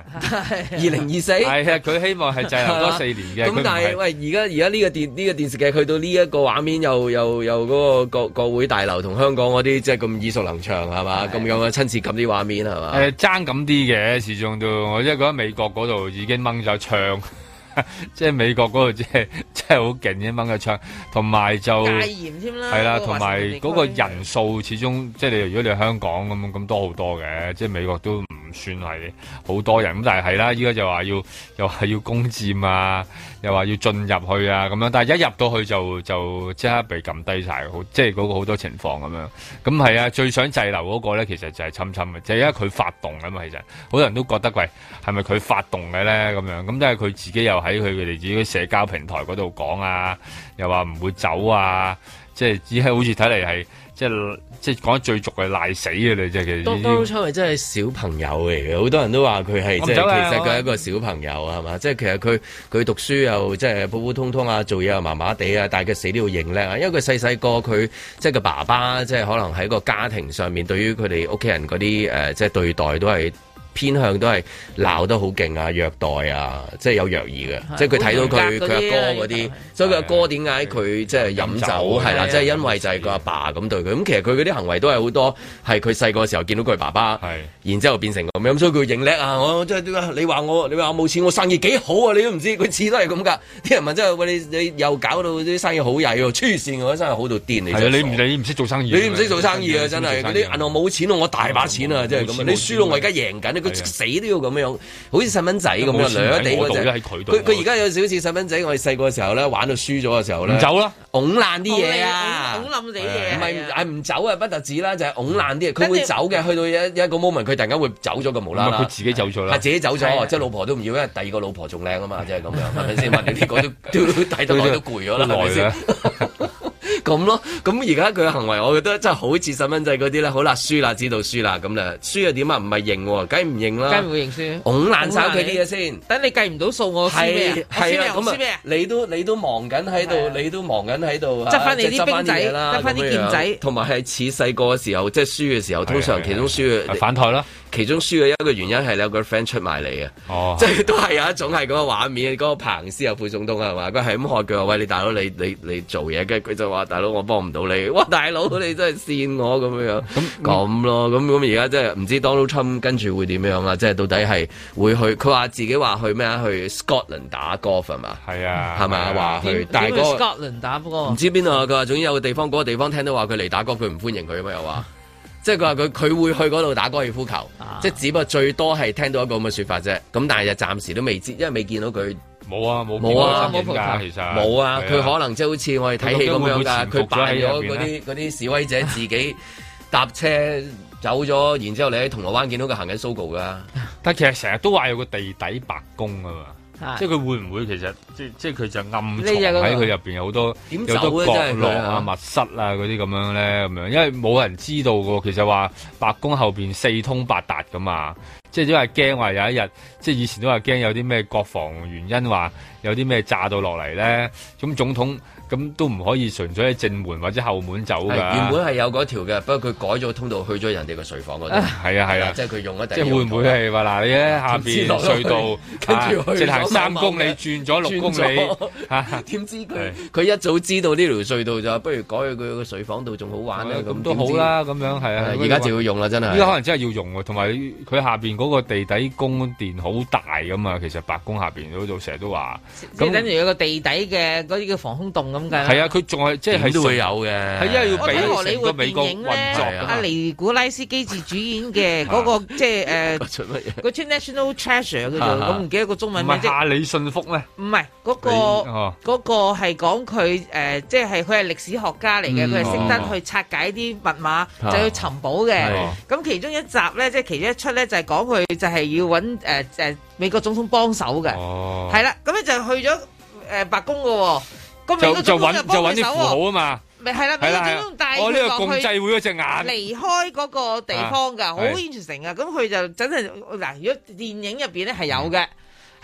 ，2024係啊，佢希望係滯留多4年嘅。 咁但係喂，而家呢個電視劇去到呢一個畫面，又嗰個國會大樓同香港嗰啲即係咁耳熟能詳係嘛？咁樣嘅親切感啲畫面係嘛？ 爭咁啲嘅，始終都我即係覺得美國嗰度已經掹咗槍。即係美國嗰度，即係好勁嘅掹個槍，同埋就戒嚴添啦， 係啦，同埋嗰個人數始終即係你如果你係香港咁多好多嘅，即係美國都唔算係好多人咁，但係啦，依家就話又話要攻佔啊，又話要進入去啊咁樣，但係一入到去就即刻被撳低晒，好即係嗰個好多情況咁樣。咁係啊，最想滯留嗰個咧，其實就係侵嘅，就係因為佢發動啊嘛。其實好多人都覺得喂，係咪佢發動嘅咧咁樣？咁即係佢自己又喺佢哋自己社交平台嗰度講啊，又話唔會走啊，即係只係好似睇嚟係即係講得最俗嘅賴死嘅你即係其實。 當初係真係小朋友嚟嘅，好多人都話佢係即係其實佢係一個小朋友係嘛？即係其實佢讀書又即係普普通通啊，做嘢又麻麻地啊，但係佢死都要認叻啊，因為佢細個佢即係個爸爸即係可能喺個家庭上面對於佢哋屋企人嗰啲即係對待都係。偏向都係鬧得好勁啊，虐待啊，即係有虐兒嘅，即係佢睇到佢阿哥嗰啲，所以佢阿哥點解佢即係飲酒係啦，即係因為就係個阿爸咁對佢，咁其實佢嗰啲行為都係好多係佢細個時候見到佢爸爸，然之後變成咁樣，所以佢認叻啊！我即係點解你話我冇錢，我生意幾好啊？你都唔知，佢次都係咁㗎。啲人問真係喂你又搞到啲生意好曳喎，黐線我生意好到癲你。 你唔識做生意， 你唔識做生意啊！真係嗰啲銀行冇錢我大把錢啊！即係咁你輸到我而家贏緊佢死都要咁樣，好似細蚊仔咁樣，兩地嗰隻。佢而家有少少似細蚊仔，我哋細個嘅時候咧，玩到輸咗嘅時候咧， 唔走啦， 拱爛啲嘢啊， 拱冧你嘢。 唔係唔走啊，不特止啦，就係拱爛啲嘢。佢會走嘅，去到一個 moment，佢突然間會走咗個無啦啦。 佢自己走咗啦， 係自己走咗，即係老婆都唔要，因為第二個老婆仲靚啊嘛，即係咁樣，係咪先？問你呢個都睇得耐都攰咗啦，係咪先？咁咯，咁而家佢嘅行為，我覺得真係好似細蚊仔嗰啲咧。好啦，輸啦，知道輸啦，咁咧輸又點啊？唔係認喎，梗係唔認啦， 梗係唔會認輸， 拱爛晒佢啲嘢先。等你計唔到數，我輸咩？ 係啊，咁啊，你都忙緊喺度，你都忙緊喺度，執翻你啲兵仔啦，執翻啲劍仔，同埋係似細個嘅時候，即係輸嘅時候，通常其中輸嘅反台啦。 其中輸嘅一個原因係你有個 friend 出埋嚟嘅，即係都係有一種係嗰個畫面，嗰個彭斯啊副總統係嘛，佢係咁喝佢話喂，你大佬你做嘢，跟住佢就話大佬我幫唔到你，哇大佬你真係跣我咁樣咁咯，咁而家即係唔知 Donald Trump 跟住會點樣啦，即係到底係會去，佢話自己話去咩啊？去 Scotland 打 golf 係嘛？係啊，係咪話去？但係嗰個 Scotland 打波唔知邊度啊？佢話總之有個地方，嗰個地方聽到話佢嚟打 golf，佢唔歡迎佢啊嘛又話。即係佢話佢會去嗰度打高爾夫球，即係只不過最多係聽到一個咁嘅説法啫。咁但係就暫時都未知，因為未見到佢。 冇啊，冇其實冇啊。佢可能即係好似我哋睇戲咁樣㗎，佢扮咗嗰啲示威者自己搭車走咗，然之後你喺銅鑼灣見到佢行緊 Sogo 㗎。 但其實成日都話有個地底白宮啊嘛。即係佢會唔會其實即係佢就暗藏喺佢入邊有好多角落啊、密室啊嗰啲咁樣咧咁樣，因為冇人知道㗎。其實話白宮後邊四通八達㗎嘛，即係因為驚話有一日，即係以前都話驚有啲咩國防原因話有啲咩炸到落嚟咧，咁總統。咁都唔可以純粹喺正門或者後門走㗎。 原本係有嗰條嘅，不過佢改咗通道去咗人哋個睡房嗰度。 係啊， 即係佢用一即係會唔會係話嗱？你喺下邊隧道，跟住行3公里轉咗6公里， 點知佢一早知道呢條隧道就不如改去佢個睡房度仲好玩咧。 咁都好啦，咁樣係啊。 而家就要用啦，真係。 依家可能真係要用喎，同埋佢下邊嗰個地底宮殿好大㗎嘛。其實白宮下邊嗰度成日都話， 即係等於有個地底嘅嗰啲叫防空洞咁計。 係啊，佢仲係即係都會有嘅， 係因為要俾成個美國運作。 阿尼古拉斯基治主演嘅嗰個即係嗰出 National Treasure 叫做，我唔記得個中文名。 唔係夏里遜福咩？ 唔係嗰個係講佢即係佢係歷史學家嚟嘅，佢係識得去拆解啲密碼，就要尋寶嘅。咁其中一集咧，即係其中一出咧，就係講佢就係要揾美國總統幫手嘅。係啦，咁咧就去咗白宮嘅。 就揾啲符號啊嘛， 咪係啦，美國總統帶佢呢個共濟會嗰隻眼離開嗰個地方㗎，好 interesting 啊！咁佢就真係嗱，如果電影入邊咧係有嘅。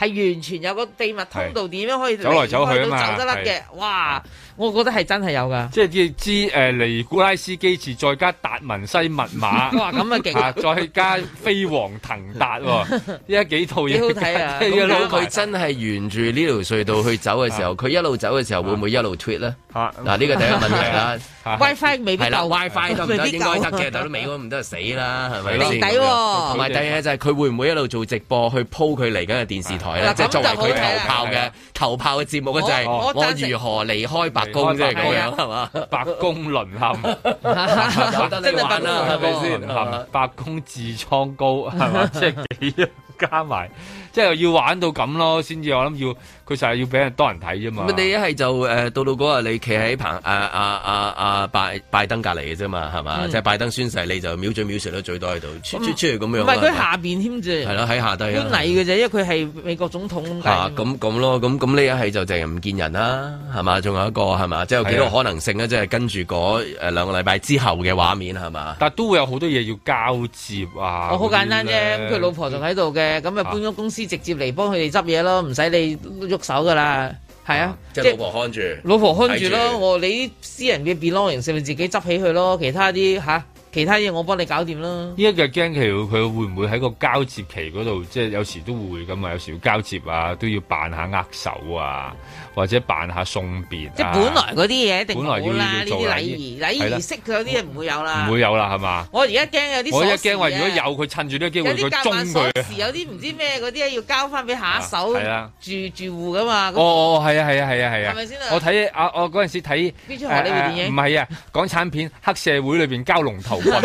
係完全有個秘密通道，點樣可以走來走去啊嘛， 走得甩嘅，哇！我覺得係真係有㗎， 即係知尼古拉斯基治再加達文西密碼， 哇咁啊勁！ 再加飛黃騰達喎，依家幾套嘢幾好睇啊！ 咁佢真係沿住呢條隧道去走嘅時候，佢一路走嘅時候會唔會一路 tweet 咧？嗱，呢個第一個問題啦。 WiFi 未必夠， 係啦 WiFi 得唔得？應該得嘅，但係都尾嗰唔得死啦，係咪先？ 地底喎。 同埋第二嘢就係佢會唔會一路做直播去鋪佢嚟緊嘅電視台咧？即係作為佢頭炮嘅節目咧，就係我如何離開白宮即係咁樣係嘛？ 白宮淪陷，有得你玩啦，係咪先？白宮痔瘡高係嘛？即係幾樣加埋，即係要玩到咁咯，先至我諗要。佢就係要俾人多人睇啫嘛。 你一係就到嗰日你企喺拜登隔離嘅啫嘛，係嘛？即係拜登宣誓，你就秒嘴秒舌都最多喺度，出嚟咁樣。 唔係佢下邊添啫。 係咯，喺下低啊。 觀禮嘅啫，因為佢係美國總統咁解。 咁咯，咁呢一係就淨係唔見人啦，係嘛？仲有一個係嘛？即係有幾多可能性咧？即係跟住嗰兩個禮拜之後嘅畫面係嘛？ 但係都會有好多嘢要交接啊。 好簡單啫，佢老婆仲喺度嘅，咁啊搬咗公司直接嚟幫佢哋執嘢咯，唔使你喐手噶啦，係啊， 即係老婆看住， 老婆看住咯，你啲私人嘅 belongings 咪自己執起佢咯，其他嘢我幫你搞掂啦。 依家嘅驚佢會唔會喺個交接期嗰度，即係有時都會咁啊，有時要交接啊，都要扮下握手啊，或者扮下送別啊。 即係本來嗰啲嘢一定冇啦， 呢啲禮儀式佢有啲嘢唔會有啦。 唔會有啦，係嘛？ 我而家驚有啲， 我一驚話如果有佢趁住呢個機會佢中佢。 有啲唔知咩嗰啲要交翻俾下一手住戶噶嘛。 係啊。係咪先啊？ 我睇我嗰陣時睇邊出荷里活電影？ 唔係啊，港產片《黑社會》裏邊交龍頭棍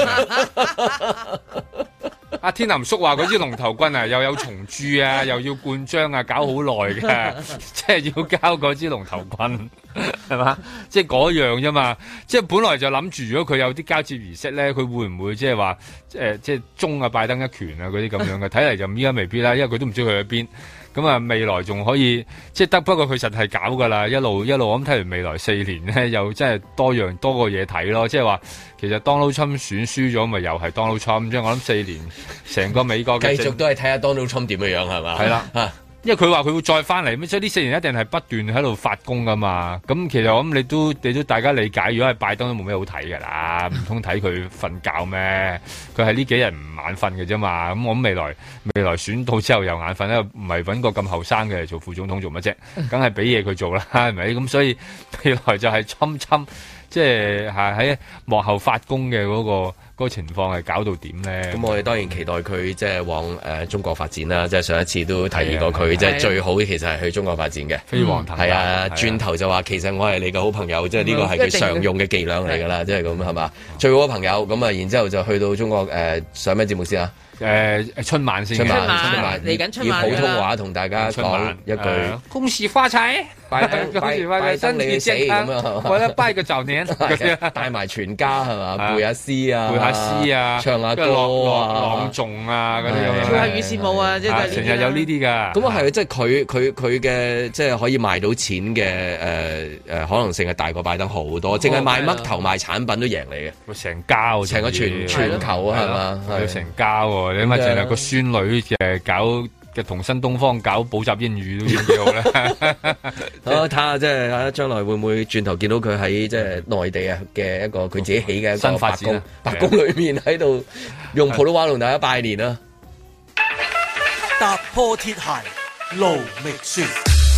阿天林叔話嗰支龍頭棍啊，又有蟲蛀啊，又要灌漿啊，搞好耐嘅，即係要交嗰支龍頭棍，係嘛？即係嗰樣啫嘛。即係本來就諗住，如果佢有啲交接儀式咧，佢會唔會即係話即係中啊拜登一拳啊嗰啲咁樣嘅？睇嚟就依家未必啦，因為佢都唔知佢喺邊。咁啊，未來仲可以即係得，不過佢實係搞噶啦，一路咁睇完未來4年咧，又真係多個嘢睇咯。即係話其實 Donald Trump 選輸咗，咪又係 Donald Trump。即係我諗4年成個美國嘅繼續都係睇下 Donald Trump 點樣係嘛？ 係啦。因為佢話佢會再翻嚟，所以呢4年一定係不斷喺度發功噶嘛。咁其實我諗你都大家理解，如果係拜登都冇咩好睇噶啦，唔通睇佢瞓覺咩？佢係呢幾日唔眼瞓嘅啫嘛。咁我諗未來選到之後又眼瞓咧，唔係揾個咁後生嘅做副總統做乜啫？梗係俾嘢佢做啦，係咪？咁所以未來就係侵，即係喺幕後發功嘅嗰個情況係搞到點咧？ 咁我哋當然期待佢即係往中國發展啦。即係上一次都提議過佢，即係最好其實係去中國發展嘅。 飛黃騰達係啊，轉頭就話其實我係你嘅好朋友，即係呢個係佢常用嘅伎倆嚟㗎啦，即係咁係嘛？最好嘅朋友咁啊，然之後就去到中國上咩節目先啊？ 春晚先， 春晚嚟緊春晚以普通話同大家講一句恭喜發財， 拜登身體健康咁樣， 或者拜個早年， 帶埋全家係嘛，背下詩啊，唱下歌朗誦啊嗰啲咁樣， 跳下雨線舞啊，即係成日有呢啲㗎。 咁啊係，即係佢嘅即係可以賣到錢嘅可能性係大過拜登好多，淨係賣嘜頭賣產品都贏你嘅， 成家成個全球啊係嘛， 要成家喎。你咪淨係個孫女搞同新東方搞補習英語都已經幾好啦。 好睇下即係將來會唔會轉頭見到佢喺即係內地啊嘅一個佢自己起嘅一個新發展白宮裏面喺度用普通話同大家拜年啊！ 踏破鐵鞋路未雪。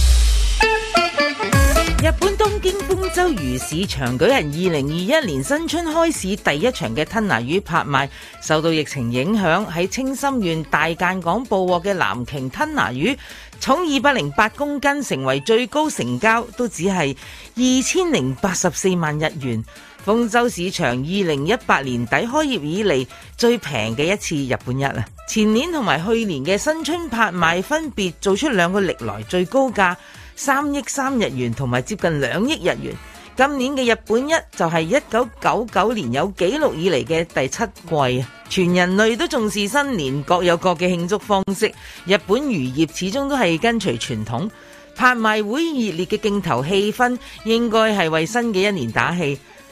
日本東京豐洲魚市場舉行2021年新春開市第一場嘅吞拿魚拍賣，受到疫情影響，喺青森縣大間港捕獲嘅藍鰭吞拿魚，重208公斤，成為最高成交，都只係2084萬日元。豐洲市場2018年底開業以嚟最平嘅一次日本一啊！前年同埋去年嘅新春拍賣分別做出兩個歷來最高價，3億3日元同埋接近2億日元。今年嘅日本一就係1999年有紀錄以嚟嘅第7季啊！全人類都重視新年，各有各嘅慶祝方式。日本漁業始終都係跟隨傳統，拍賣會熱烈嘅競投氣氛應該係為新嘅一年打氣。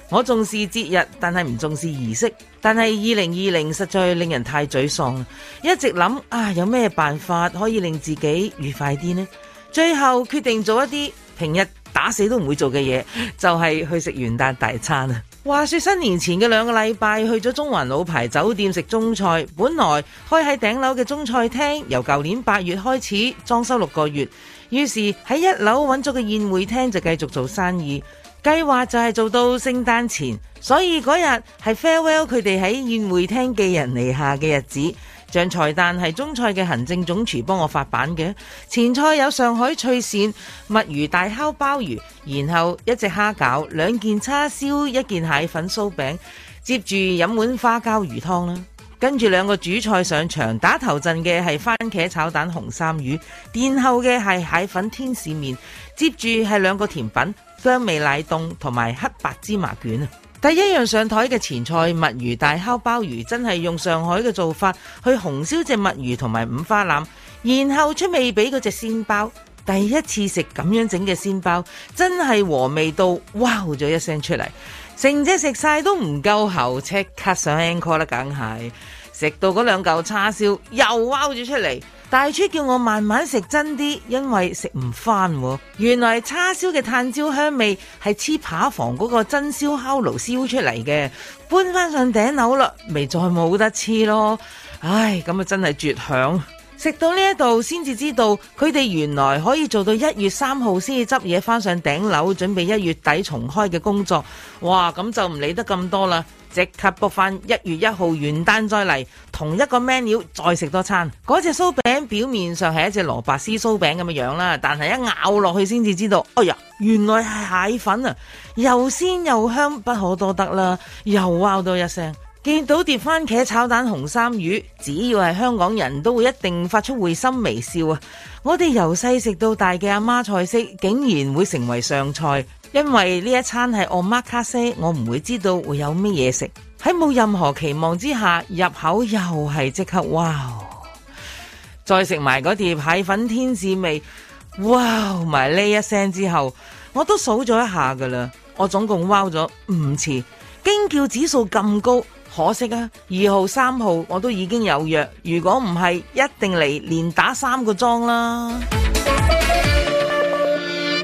我重視節日，但係唔重視儀式。但係2020實在令人太沮喪，一直諗有咩辦法可以令自己愉快啲呢？最後決定做一啲平日打死都唔會做嘅嘢，就係去食元旦大餐啊！話說新年前嘅2個禮拜去咗中環老牌酒店食中菜，本來開喺頂樓嘅中菜廳由舊年8月開始裝修6個月，於是喺1樓揾咗個宴會廳就繼續做生意，計劃就係做到聖誕前，所以嗰日係 farewell 佢哋喺宴會廳寄人籬下嘅日子。像菜單係中菜嘅行政總廚幫我發版嘅，前菜有上海脆鱔、墨魚大烤鮑魚，然後1隻蝦餃、2件叉燒、1件蟹粉酥餅，接住飲碗花膠魚湯啦。跟住2個主菜上場，打頭陣嘅係番茄炒蛋紅衫魚，殿後嘅係蟹粉天使麵，接住係2個甜品薑味奶凍同埋黑白芝麻卷啊！第一樣上台嘅前菜墨魚大烤鮑魚，真係用上海嘅做法去紅燒隻墨魚同埋五花腩，然後出味俾嗰隻鮮包。第一次食咁樣整嘅鮮包，真係和味到哇咗一聲出嚟，成隻食晒都唔夠喉，即刻上 encore 啦，梗係食到嗰2嚿叉燒又哇咗出嚟。大廚叫我慢慢食真啲，因為食唔翻。原來叉燒嘅炭焦香味係黐扒房嗰個真燒烤爐燒出嚟嘅，搬翻上頂樓啦，咪再冇得黐咯。唉，咁啊真係絕響。食到呢一度先至知道，佢哋原來可以做到1月3號先至執嘢翻上頂樓，準備1月底重開嘅工作。哇，咁就唔理得咁多啦，即刻 book 翻1月1號元旦再嚟，同一個 menu 再食多餐。嗰隻酥餅表面上係一隻蘿蔔絲酥餅咁嘅樣啦，但係一咬落去先至知道，哎呀，原來係蟹粉啊，又鮮又香，不可多得啦，又wow多一聲。見到碟番茄炒蛋紅衫魚，只要係香港人都會一定發出會心微笑啊！我哋由細食到大嘅阿媽菜式，竟然會成為上菜，因為呢一餐係omakase，我唔會知道會有乜嘢食。喺冇任何期望之下，入口又係即刻哇！再食埋嗰碟蟹粉天使味，哇埋呢一聲之後，我都數咗一下噶啦，我總共wow咗5次，驚叫指數咁高。可惜啊，2號、3號我都已經有約，如果唔係，一定嚟連打3個莊啦。